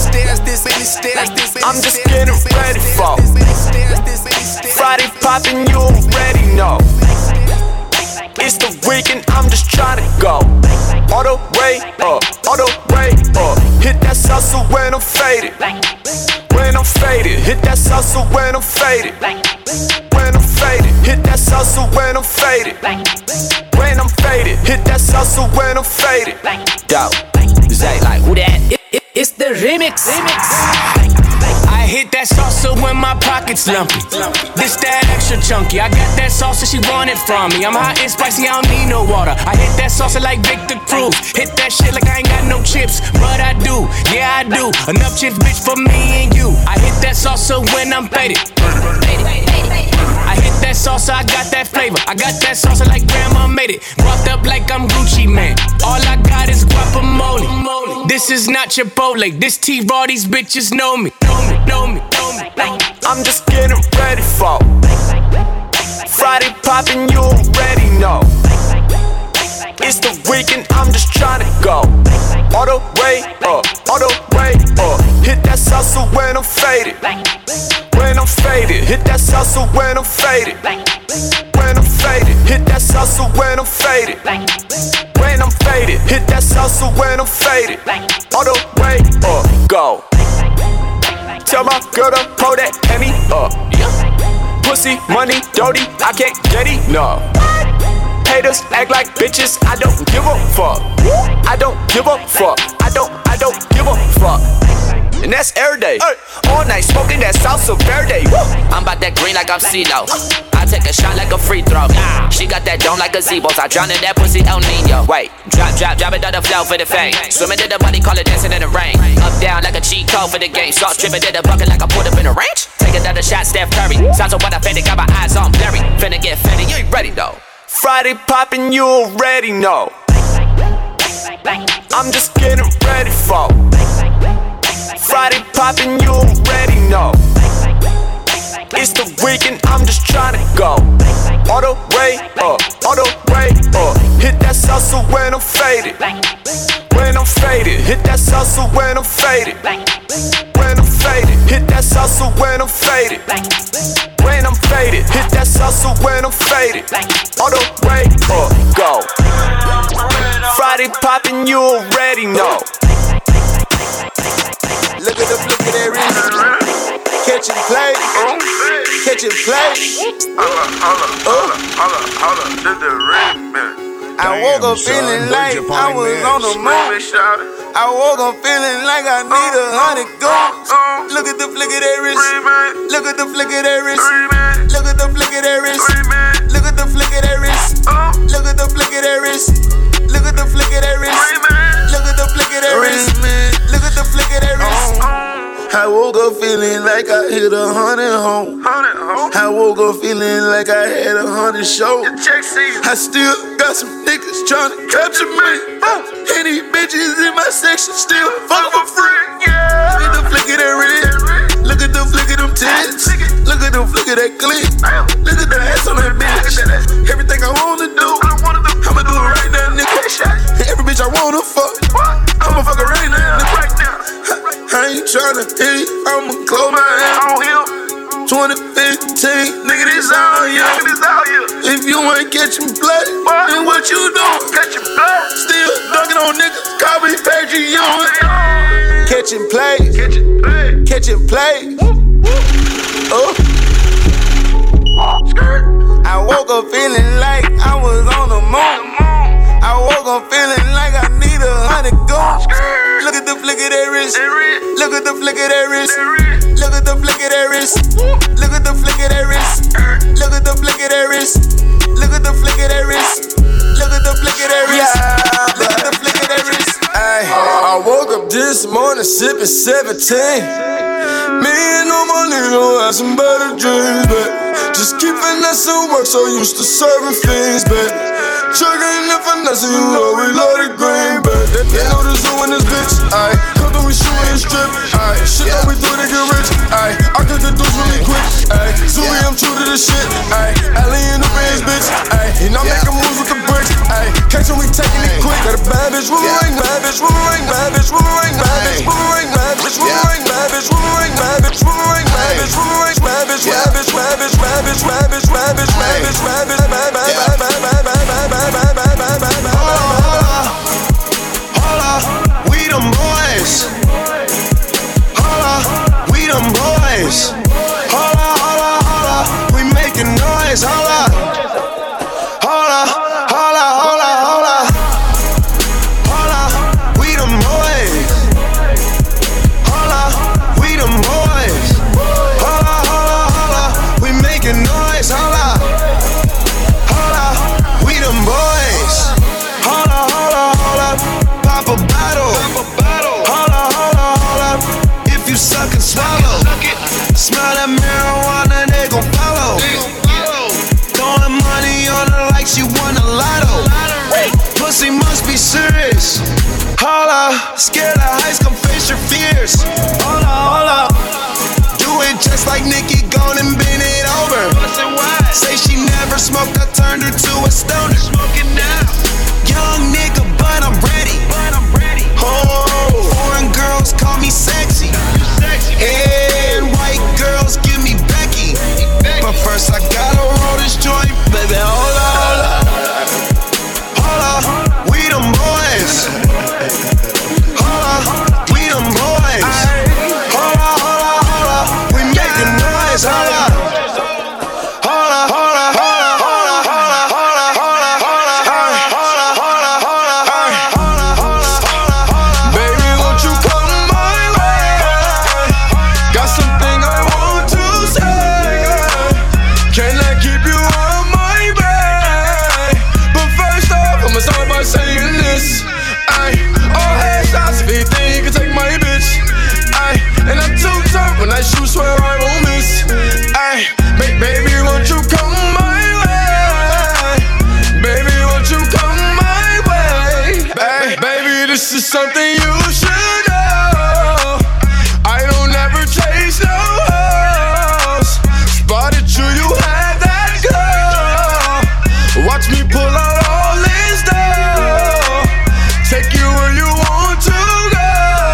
Speaker 3: I'm just getting ready for Friday poppin', you already know. It's the weekend, I'm just tryna go. All the way up, all the way up. Hit that salsa when I'm faded. When I'm faded, hit that salsa when I'm faded. When I'm faded, hit that salsa when I'm faded. When I'm faded, hit that salsa when I'm faded. Yo, Zay like, who that?
Speaker 23: It's the remix. I hit that salsa when my pocket's lumpy. This that extra chunky. I got that salsa, she want it from me. I'm hot and spicy, I don't need no water. I hit that salsa like Victor Cruz. Hit that shit like I ain't got no chips, but I do, yeah I do. Enough chips, bitch, for me and you. I hit that salsa when I'm faded. I hit that salsa, I got that flavor. I got that salsa like grandma made it. Walked up like I'm Gucci, man. All I got is guacamole. This is not Chipotle. This T-Raw, these bitches know me.
Speaker 3: I'm just getting ready for Friday poppin', you already know. It's the weekend, I'm just tryna go. All the way up, all the way up. Hit that salsa when I'm faded. When I'm faded, hit that salsa when I'm faded. When I'm faded, hit that salsa when I'm faded. When I'm faded, hit that salsa when I'm faded. All the way up, go. Tell my girl to pull that Hemi up. Pussy, money, dirty, I can't get enough. haters act like bitches. I don't give a fuck. I don't give a fuck. I don't give a fuck. And that's every day. All night smoking that salsa verde. I'm about that green like I'm CeeLo. I take a shot like a free throw. She got that dome like a gazebo. I drown in that pussy El Nino. Wait, drop it on the floor for the fame. Swimming to the money, call it dancing in the rain. Up down like a cheat code for the game. Salt dripping in the bucket like I put up in the range. Take another shot, Steph Curry. Sounds like what I faded, got my eyes on Barry. Finna get faded, you ain't ready though. Friday poppin', you already know. I'm just getting ready for Friday poppin', you already know. It's the weekend, I'm just tryna go. All the way up, all the way up. Hit that salsa when I'm faded. When I'm faded, hit that salsa when I'm faded. When I'm faded, hit that salsa when I'm faded. When I'm faded, hit that salsa when I'm faded. All the way up, go. Friday poppin', you already know.
Speaker 5: Look at that wrist. Catch and play. Catch and play.
Speaker 6: Look the ring, man.
Speaker 5: I woke up feeling like I was on the moon. I woke up feeling like I need 100 goons. Look at the flick of that wrist. Look at the flick of that wrist. Look at the flick of that wrist. Look at the flick of that wrist. Look at the flick of that wrist. Look at the flick of that wrist. Look at the flick of that wrist. Look at the flick of that wrist. I woke up feeling like I hit 100 home. I woke up feeling like I had 100 shows. I still got some niggas tryna capture me. And these bitches in my section still fuck for free. Yeah. Look at the flick of that wrist. Look at the flick of them tits. Look at the flick of that clip. Look at the ass on that bitch. Everything I wanna do, I'ma do it right now, nigga. Every bitch I wanna fuck, I'ma fuck her right now, nigga. I ain't tryna hit it, I'ma close my eyes. 2015, nigga, this all you. If you ain't catching blood, then what you doing? Catching blood. Still dunking on niggas, call me Patreon. Catching play, catching play. I woke up feeling like I was on the moon. I woke up feeling like I need 100 goons. Look at the flick of that wrist. Look at the flick of that wrist. Look at the flick of that wrist. Look at the flick of that wrist. Look at the flick of that wrist. Look at the flick of that wrist. Look at the flick of that wrist. Look at the flick of that wrist.
Speaker 7: I woke up this morning sipping 17. Me and all my niggas had some better dreams, but just keep finessing work, so used to serving fiends, but chugging and finessing, you know we love the green, but they know the zoo in this bitch, ayy. Come through, we shootin' and strip, ayy. Shit that we do to get rich, ayy. I cut the dudes really quick, ayy. Zooey, I'm true to this shit, ayy. Alley in the Benz, bitch, ayy. And I'm making moves with the bricks, ayy. Catch when we taking it quick. Got a bad bitch, ring, bad bitch, ring, bad bitch, ring, bad bitch, ring, bad bitch, ring, bad bitch, ring, bad bitch, ring, bad bitch, ring, bad bitch, rabbit, rabbit, rabbit, rabbit, rabbit, rabbit, rabbit,
Speaker 5: we them boys. Holla, we them boys. Holla, holla, holla, we making noise. Holla, holla, holla, holla, holla, holla, we them boys. Holla, we them boys. Holla, holla, holla, we making noise. Holla, holla, we them boys. Holla, holla, holla, pop a bottle. Holla, holla, holla, if you suck and swallow. Smell that marijuana, they gon' follow. Throwing money on her like she won a lotto. Pussy must be serious. Holla, scared of heights, come face your fears. Holla, holla, do it just like Nicki, gone and bend it over. Say she never smoked, I turned her to a stoner. Young nigga, but I'm ready. Oh, foreign girls call me sexy. And white girls give me Becky. But first I gotta roll this joint, baby. Holla, holla, holla, we them boys. Holla, we them boys. Holla, holla, holla, we making noise. Holla, holla, holla, holla, holla, holla, holla, holla, holla.
Speaker 7: something you should know. I don't ever chase no hoes. Spotted you, you had that girl. Watch me pull out all this dough. Take you where you want to go.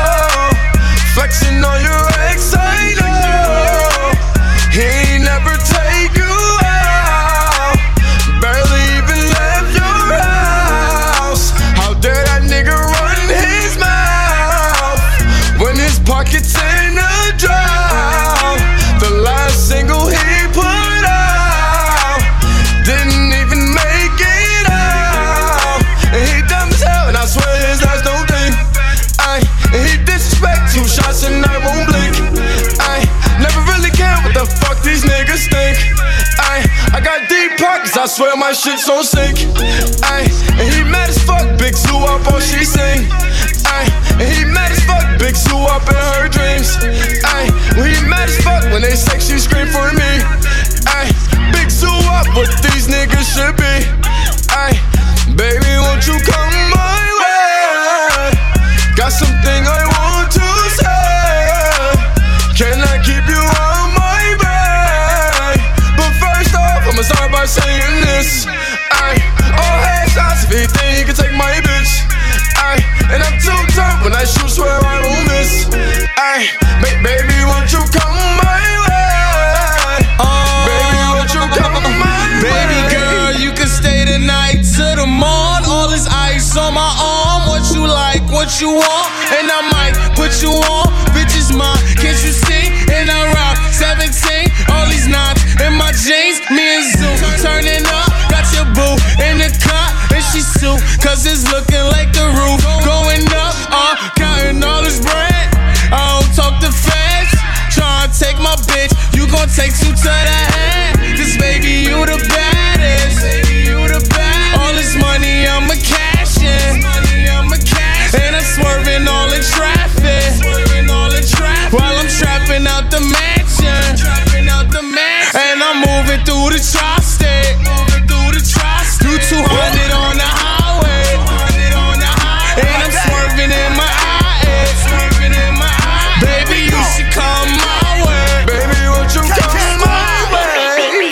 Speaker 7: Flexing on your ex, I know. He ain't never take you out. Barely even left your house. How dare that nigga run his mouth when his pockets in a drought? The last single he put out didn't even make it out. And he dumb as hell, and I swear his eyes don't blink. And he disrespect 2 shots and I won't blink. Never really care what the fuck these niggas think. I got deep pockets, I swear my shit's on sync. And he mad as fuck, big zoo up all she sing. And he mad as fuck, big zoo up in her dreams. When he mad as fuck, when they say she scream for me. Big zoo up, what these niggas should be. Baby, won't you come my way? Got something I want to say. Can I keep you on my way? But first off, I'ma start by saying this. All headshots if he think he can take my bitch. And I'm too tough when I shoot, swear I won't miss. Baby, won't you come my way? Baby, won't you come my way?
Speaker 15: Baby girl, you can stay tonight to the morn. All this ice on my arm. What you like, what you want, and I might put you on. Bitch is mine, can't you see? And I rock 17, all these knots in my jeans. Me and Zoo turning up, got your boo in the cut, and she sue, cause it's looking like the roof going up. Counting all this bread. I don't talk to feds. Tryna take my bitch, you gon' take 2 to the head. Cause baby, you the baddest. All this money, I'ma cash in. And I'm swerving all in traffic while I'm trapping out the mansion. And I'm moving through the tri-state. Do 200 on the highway. And I'm swerving in my eyes. Baby, you should come my way. Baby, won't you come my way?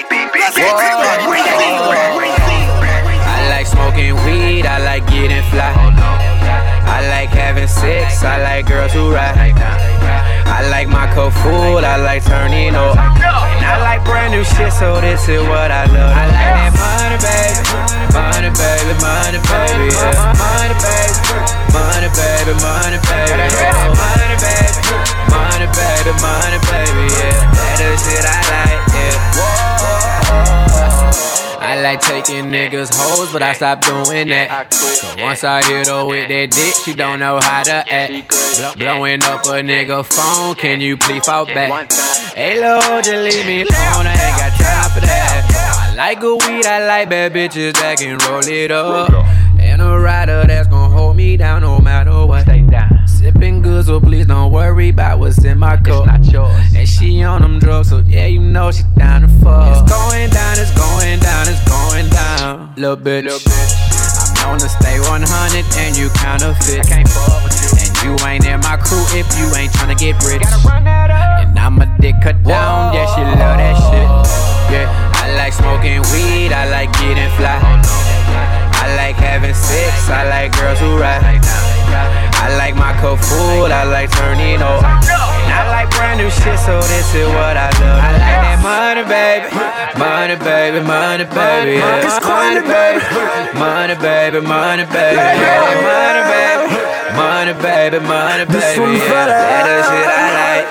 Speaker 23: I like smoking weed, I like getting fly. I like having sex, I like girls who ride. I like my cup full, I like turning up. And I like brand new shit, so this is what I love. I like that money, baby. Money, baby, money, baby, yeah. Money, baby. Money, baby, money, baby, yeah. Money, baby. Money, baby, money, baby, yeah. That is shit I like, yeah. I like taking niggas hoes, but I stopped doing that. So once I hit her with that dick, she don't know how to act. Blowing up a nigga phone, can you please fall back? Hey Lord, just leave me alone, I ain't got time for that. I like good weed, I like bad bitches that can roll it up. And a rider that's gon' hold me down no matter what. Sipping good, so please don't worry about what's in my cup. And she on them drugs, so yeah, you know she down to fuck. It's going down, it's going down, it's going down. Little bitch, I'm known to stay 100 and you counterfeit. And you ain't in my crew if you ain't tryna get rich. And I'm a dick cut down, yeah, she love that shit. Yeah, I like smoking weed, I like getting fly. I like having sex, I like girls who ride. I like my cup full, I like turning up. And I like brand new shit, so this is what I love. I like that money, baby. Money, baby, money, baby, yeah. Money, baby. Money, baby, money, baby, yeah. Money, baby. Money, baby, money, baby, yeah. That is shit I like,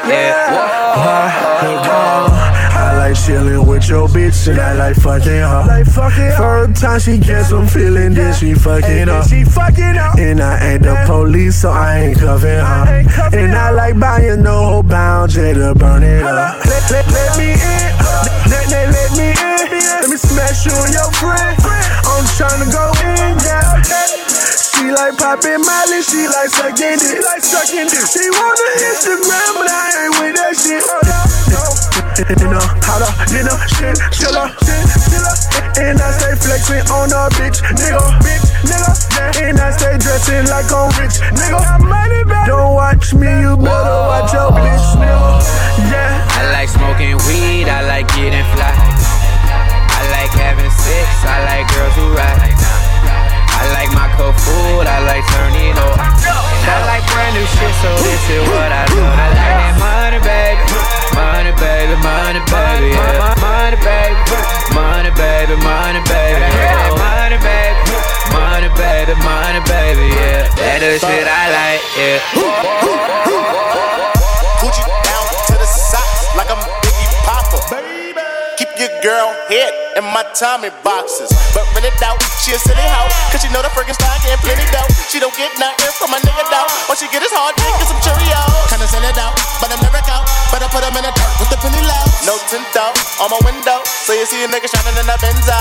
Speaker 23: yeah.
Speaker 9: I like chillin' with your bitch and I like fucking her. First time she gets some feeling, then she fucking up. And I ain't the police, so I ain't cuffing her. And I like buying no bound, to burn it up. Let me in, let me in. Let me smash you and your friend. I'm tryna go in, yeah. She like poppin' Molly, she like sucking dick. She want the Instagram, but I ain't with that shit. Holla, shit, chilla. And I stay flexing on a bitch, nigga. And I stay dressed flexing like I'm rich, nigga. Don't watch me, you better watch your bitch, nigga. Yeah.
Speaker 23: I like smoking weed, I like getting fly. I like having sex, I like girls who ride. I like my cold food, I like turning up. I like brand new shit, so this is what I do. I like that money, baby. Money, baby, money, baby, yeah. Money, baby. Money, baby, money, baby, yeah. Money, baby. Money, baby, money, baby, yeah. That the shit I like, yeah.
Speaker 2: Gucci down to the socks like I'm Biggie Papa. Keep your girl head in my Tommy boxes. But when it out, she a silly hoe. Cause she know the friggin' style getting plenty dough. She don't get nothing from my nigga though. All she get is hard dick and some Cheerios. Kinda sell it out, but I'm never out. Better put them in the dirt with the penny low. No tint out on my window. So you see a nigga shining in the Benzo.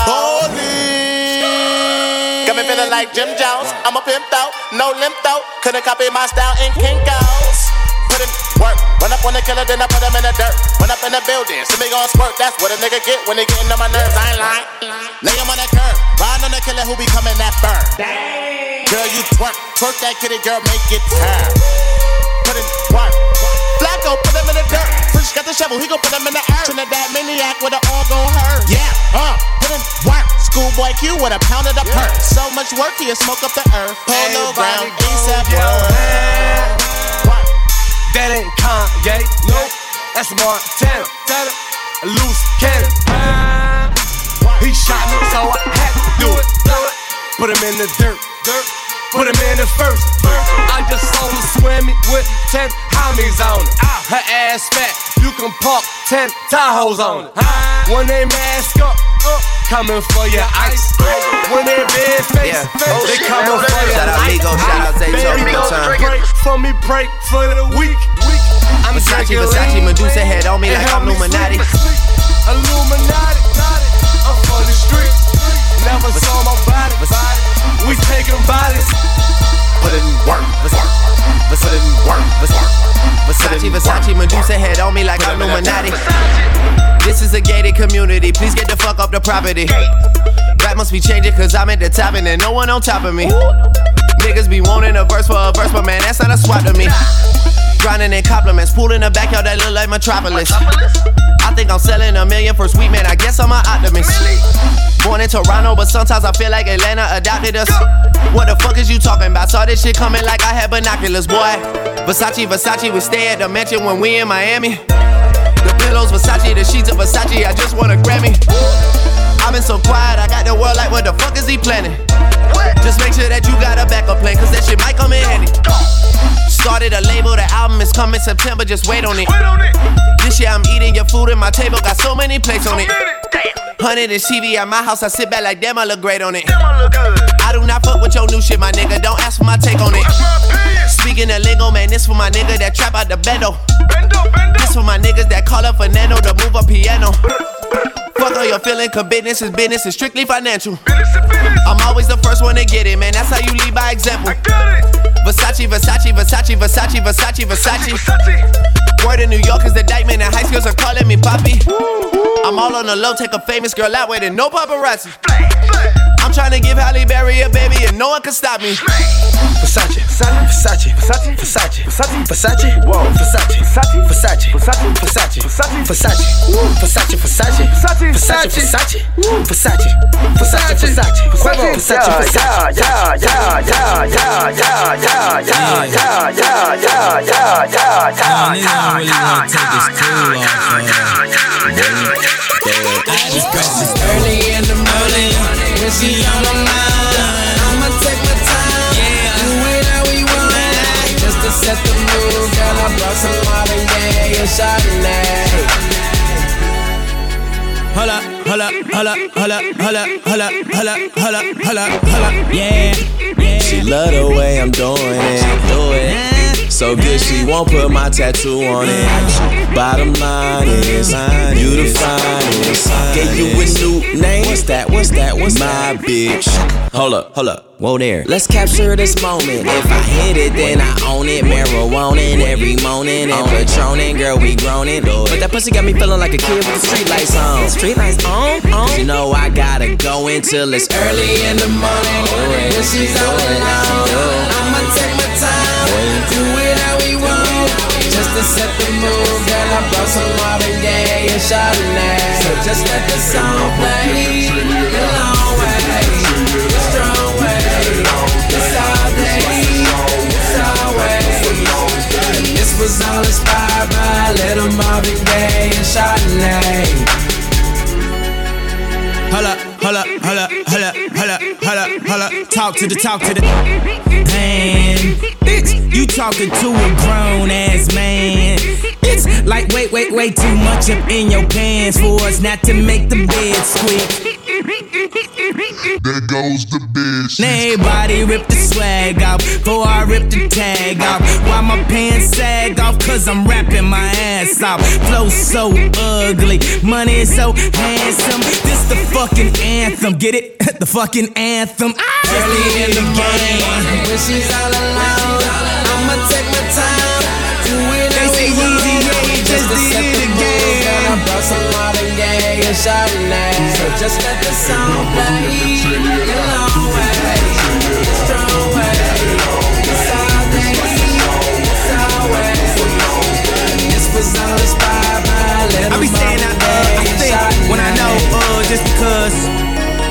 Speaker 2: Holy. Got me feeling like Jim Jones. I'm a pimp out, no limp out. Couldn't copy my style in Kinko's. Put in work, run up on the killer, then I put him in the dirt. Run up in the building, see me gon' squirt. That's what a nigga get when they gettin' on my nerves. I ain't lying. Lay him on that curb, ride on the killer who be coming that burn. Girl, you twerk that kitty, girl, make it turn. Put in work. Flacco, put him in the dirt. Fresh got the shovel, he gon' put him in the earth. Trinidad maniac with an all gon' hurt. Yeah, put in work. Schoolboy Q with a pound of the perk. So much work, he'll smoke up the earth. Polo Brown, ASAP work.
Speaker 12: That ain't Kanye, nope, that's Montana. A loose cannon. He shot me, so I had to do it. Put him in the dirt, put him in the first. I just saw her swimming with 10 homies on it. Her ass fat, you can park 10 Tahoes on it. When they mask up, coming for your ice. When they big face, they coming for your
Speaker 20: shout out Migo, shout out Zay, show me time.
Speaker 12: Break for me, break for the week. I'm
Speaker 20: Versace, Medusa head on me like I'm Illuminati.
Speaker 12: Illuminati, I'm for the street. Never saw my body. We taking bodies.
Speaker 20: Put it in work. Put it in work. Versace, Medusa head on me like I'm Illuminati. This is a gated community. Please get the fuck off the property. Rap must be changing cause I'm at the top and there's no one on top of me. Niggas be wanting a verse for a verse, but man, that's not a swap to me. Grinding in compliments, pool in the backyard that look like Metropolis. I think I'm selling $1 million for sweet, man, I guess I'm an optimist. Born in Toronto, but sometimes I feel like Atlanta adopted us. What the fuck is you talking about? Saw this shit coming like I had binoculars, boy. Versace, we stay at the mansion when we in Miami. The pillows Versace, the sheets of Versace, I just want a Grammy. I've been so quiet, I got the world like what the fuck is he planning? Just make sure that you got a backup plan, cause that shit might come in handy. Started a label, the album is coming September, just wait on it. This year I'm eating your food and my table got so many plates on it. 100 inch TV at my house, I sit back like damn, I look great on it. I do not fuck with your new shit, my nigga, don't ask for my take on it. Speaking of lingo, man, this for my nigga that trap out the bendo. This for my niggas that call up Fernando to move a piano. Fuck all your feeling, cause business is strictly financial. I'm always the first one to get it, man, that's how you lead by example. Versace. Word in New York is the indictment and high schools are calling me Poppy. I'm all on the low, take a famous girl out with it, no paparazzi. I'm trying to give Halle Berry a baby and no one can stop me. Versace,
Speaker 10: Early in the morning, when she on my mind, I'ma take my time, do it how we want it. Just to set the mood, girl, I brought some Martinez and Chardonnay. Hold up, yeah.
Speaker 14: She love the way I'm doing it. So good she won't put my tattoo on it. Bottom line is, you the finest. Gave you a new name. What's that? My bitch. Hold up. Whoa there. Let's capture this moment. If I hit it, then I own it. Marijuana every morning and Patronin', girl, we groanin'. But that pussy got me feeling like a kid with the street lights on. Street lights on? Cause you know I gotta go until it's early in the morning. When she's on the line,
Speaker 15: just to set the mood, girl, I brought some Marvin Gaye and Chardonnay. So just let the song play. The long way, the strong way, it's all day, it's always. This was all inspired by a little Marvin Gaye and Chardonnay.
Speaker 13: Holla, holla, holla, holla, holla, holla, holla. Talk to the man. Bitch, you talking to a grown ass man. It's like way too much up in your pants for us not to make the bed squeak.
Speaker 17: There goes the bitch.
Speaker 13: Everybody rip the swag off before I rip the tag off. Why my pants sag off? Cause I'm rapping my ass off. Flow so ugly, money is so handsome. This the fucking anthem, get it? The fucking anthem.
Speaker 15: Early in the game, when she's all alone, I'ma take my time, do it how we want. Just to set the mood, I brought some Marvin Gaye and Chardonnay. So just let the song play. The long way, the strong way, it's all day, it's always. This was all inspired by a little
Speaker 13: I be saying I think when I know just because.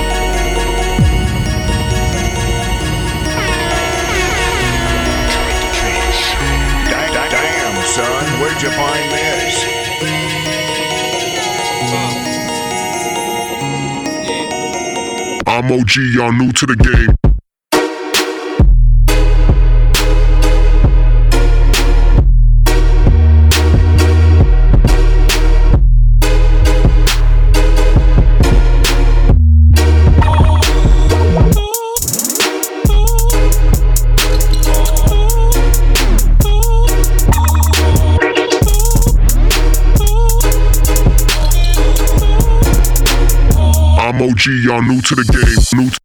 Speaker 1: Damn, son, where'd you find this?
Speaker 17: I'm OG, y'all new to the game. I'm OG, y'all new to the game. New.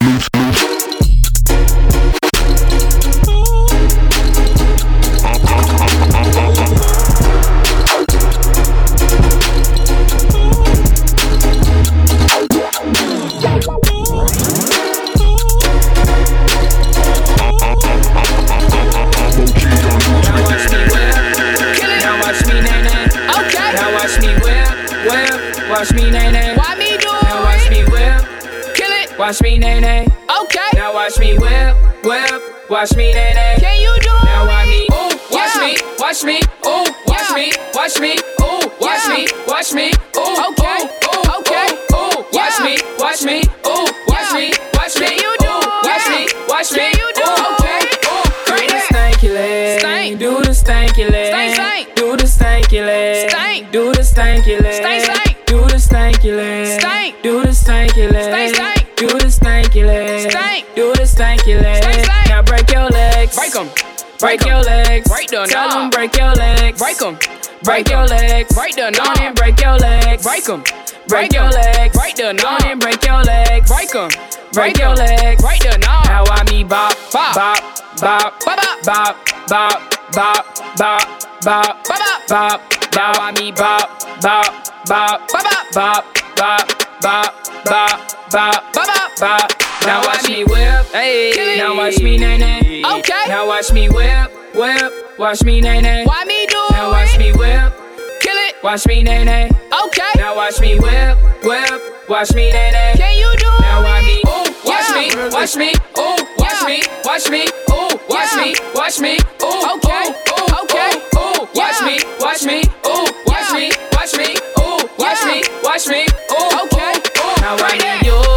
Speaker 23: Watch me, nay, nay. Why me do it? Now watch me whip. Kill it. Watch me, nay, nay. Okay. Now watch me whip. Watch me, nay, nay. Can you do it? Now watch me. Ooh. Watch me. Watch me. Ooh. Watch me. Watch me. Ooh. Watch me. Watch me. Ooh. Okay. Ooh. Okay. Ooh. Watch me. Watch me. Ooh. Watch me. Watch me. Can you do it? Watch me. Watch me. Can you do it? Okay. Do the stanky leg. Stank. Do the stanky leg. Stank. Do the stanky leg. Stank. Do the stanky leg. Stank. Do the stanky leg. Stank. Do the stanky leg. Stank. Do the stanky leg. Stank. Do the stanky leg. Now break your legs. Break them. Break your legs. Break them. Tell them break your legs. Break them. Break your legs. Break them. On and break your legs. Break them. Break your legs. Break them. On and break your legs. Break them. Break your legs. Break them. Now I me bop bop bop bop bop bop bop bop bop bop bop. Now I me bop bop bop bop bop bop bop bop bop bop bop. Now watch me whip, hey. Now watch me nay nay. Okay. Now watch me whip. Watch me nay nay. Why me do it? Now watch me whip. Kill it. Watch me nay nay. Okay. Now watch me whip. Watch me nay nay. Can you do it? Now watch me. Ooh. Watch me. Watch me. Ooh. Watch me. Watch me. Ooh. Watch me. Watch me. Ooh. Okay. Ooh. Okay. Ooh. Watch me. Watch me. Ooh. Watch me. Watch me. Ooh. Watch me. Watch me. Ooh. Okay. Now I need you.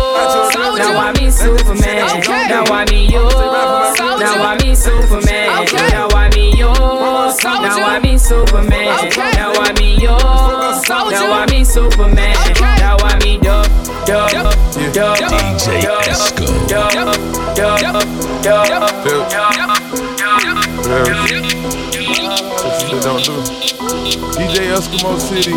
Speaker 23: Now I me Superman. Now I me you. Now I me Superman. Now I me you. Now I me Superman. Now I me you. Now I me Superman. Now I me
Speaker 17: DJ Esco.
Speaker 18: DJ Eskimo City.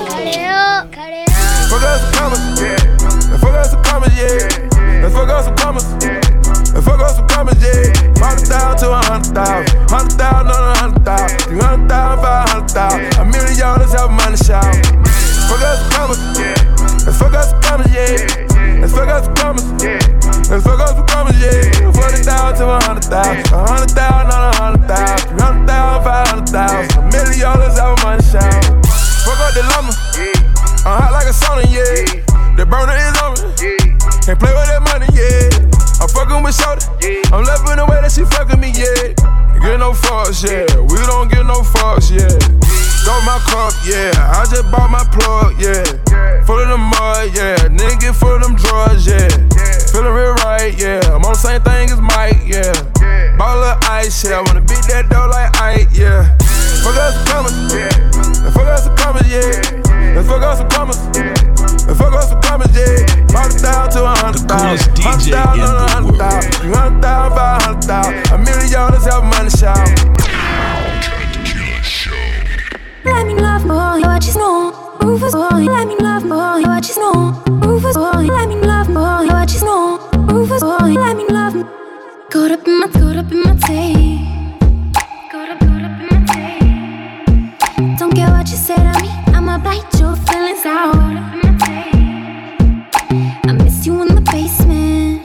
Speaker 18: Fuck us some commas, yeah. Fuck us some commas, yeah. Fuck us some commas, yeah. Fuck us some commas, yeah. 100,000 to 100,000, 100,000 on 100,000, 300,000, 500,000. $1 million help money shout. Fuck us some commas, yeah. Fuck us some commas, yeah. Fuck us some commas, yeah. Fuck us some commas, yeah. 40,000 to 100,000, 100,000 on 100,000, 300,000, 500,000. $1 million yeah. I'm fucking with Shorty. I'm loving the way that she fucking me, yeah. Get no fucks, yeah. We don't get no fucks, yeah. Got my cup, yeah. I just bought my plug, yeah. Full of the mud, yeah. Nigga full of them drugs, yeah. Feeling real right, yeah. I'm on the same thing as Mike, yeah. Bought a little ice, yeah. I wanna beat that dough like Ike, yeah. Fuck us some commas, yeah. Fuck us some commas, yeah. Let's fuck us some commas. Let's fuck us some commas, yeah. 100,000 to 100,000. 100,000 on 100,000. 300,000, 500,000. $1 million is help money shout.
Speaker 4: Let me love more, what you know. Rufus boy, let me love more, what you know. Rufus boy, let me love more, what you know. Rufus boy, let me love. Caught up in my tape. Caught up in my tape. Don't care what you say to me, I'ma bite your feelings out. I miss you in the basement.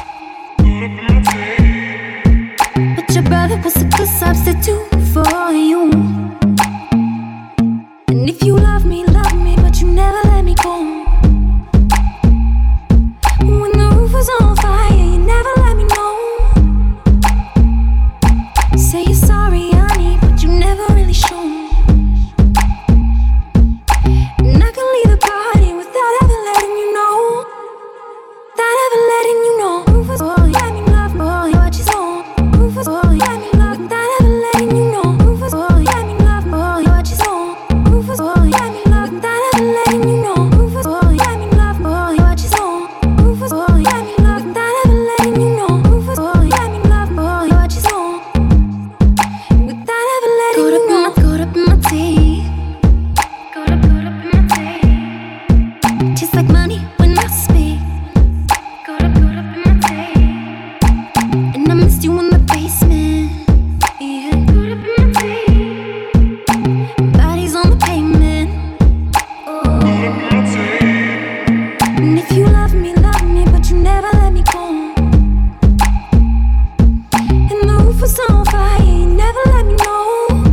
Speaker 4: But your brother was a good substitute for you. And if you love me, but you never let me go. When the roof was on fire, you never let me know. Say you're sorry, honey, but you never really show. And I can leave the party without ever letting you know. Without ever letting you know. Rufus boy, let me love boy, what you know. Rufus boy, let me love, without ever letting you know. Rufus boy, let me love boy, what you know. Rufus boy, let me love, without ever letting you know. Rufus boy, let me love boy, what you know. Rufus boy, let me love, without ever letting you know. Rufus boy, let me love boy, what you know. Without ever letting you know. Caught up in my teeth. Caught up in my teeth. Just like money when I speak. Caught up in my teeth. And I missed you in the basement. Yeah, caught up in my teeth. Bodies on the pavement. And if you love me, but you never let me go. And the roof was on fire, you never let me know.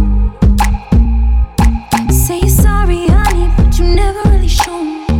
Speaker 4: Say you're sorry, honey, but you never really show.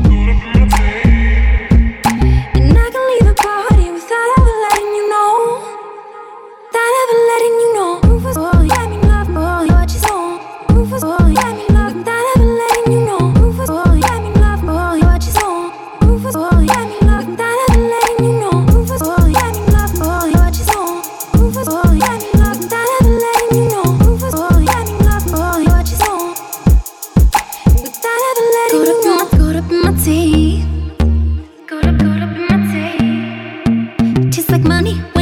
Speaker 4: And I can leave the party without ever letting you know. Without ever letting you know. Rufus boy, let me love boy, what you know. Rufus boy, let me love, without ever letting you know. Rufus boy, let me love boy, what you know. Rufus boy, let me love, without ever letting you know. Rufus boy, let me love boy, what you know. Rufus boy, let me love, without ever letting you know. Rufus boy, let me love boy, what you know. Without ever letting you know. Caught up in my teeth. Caught up in my teeth. Just like money.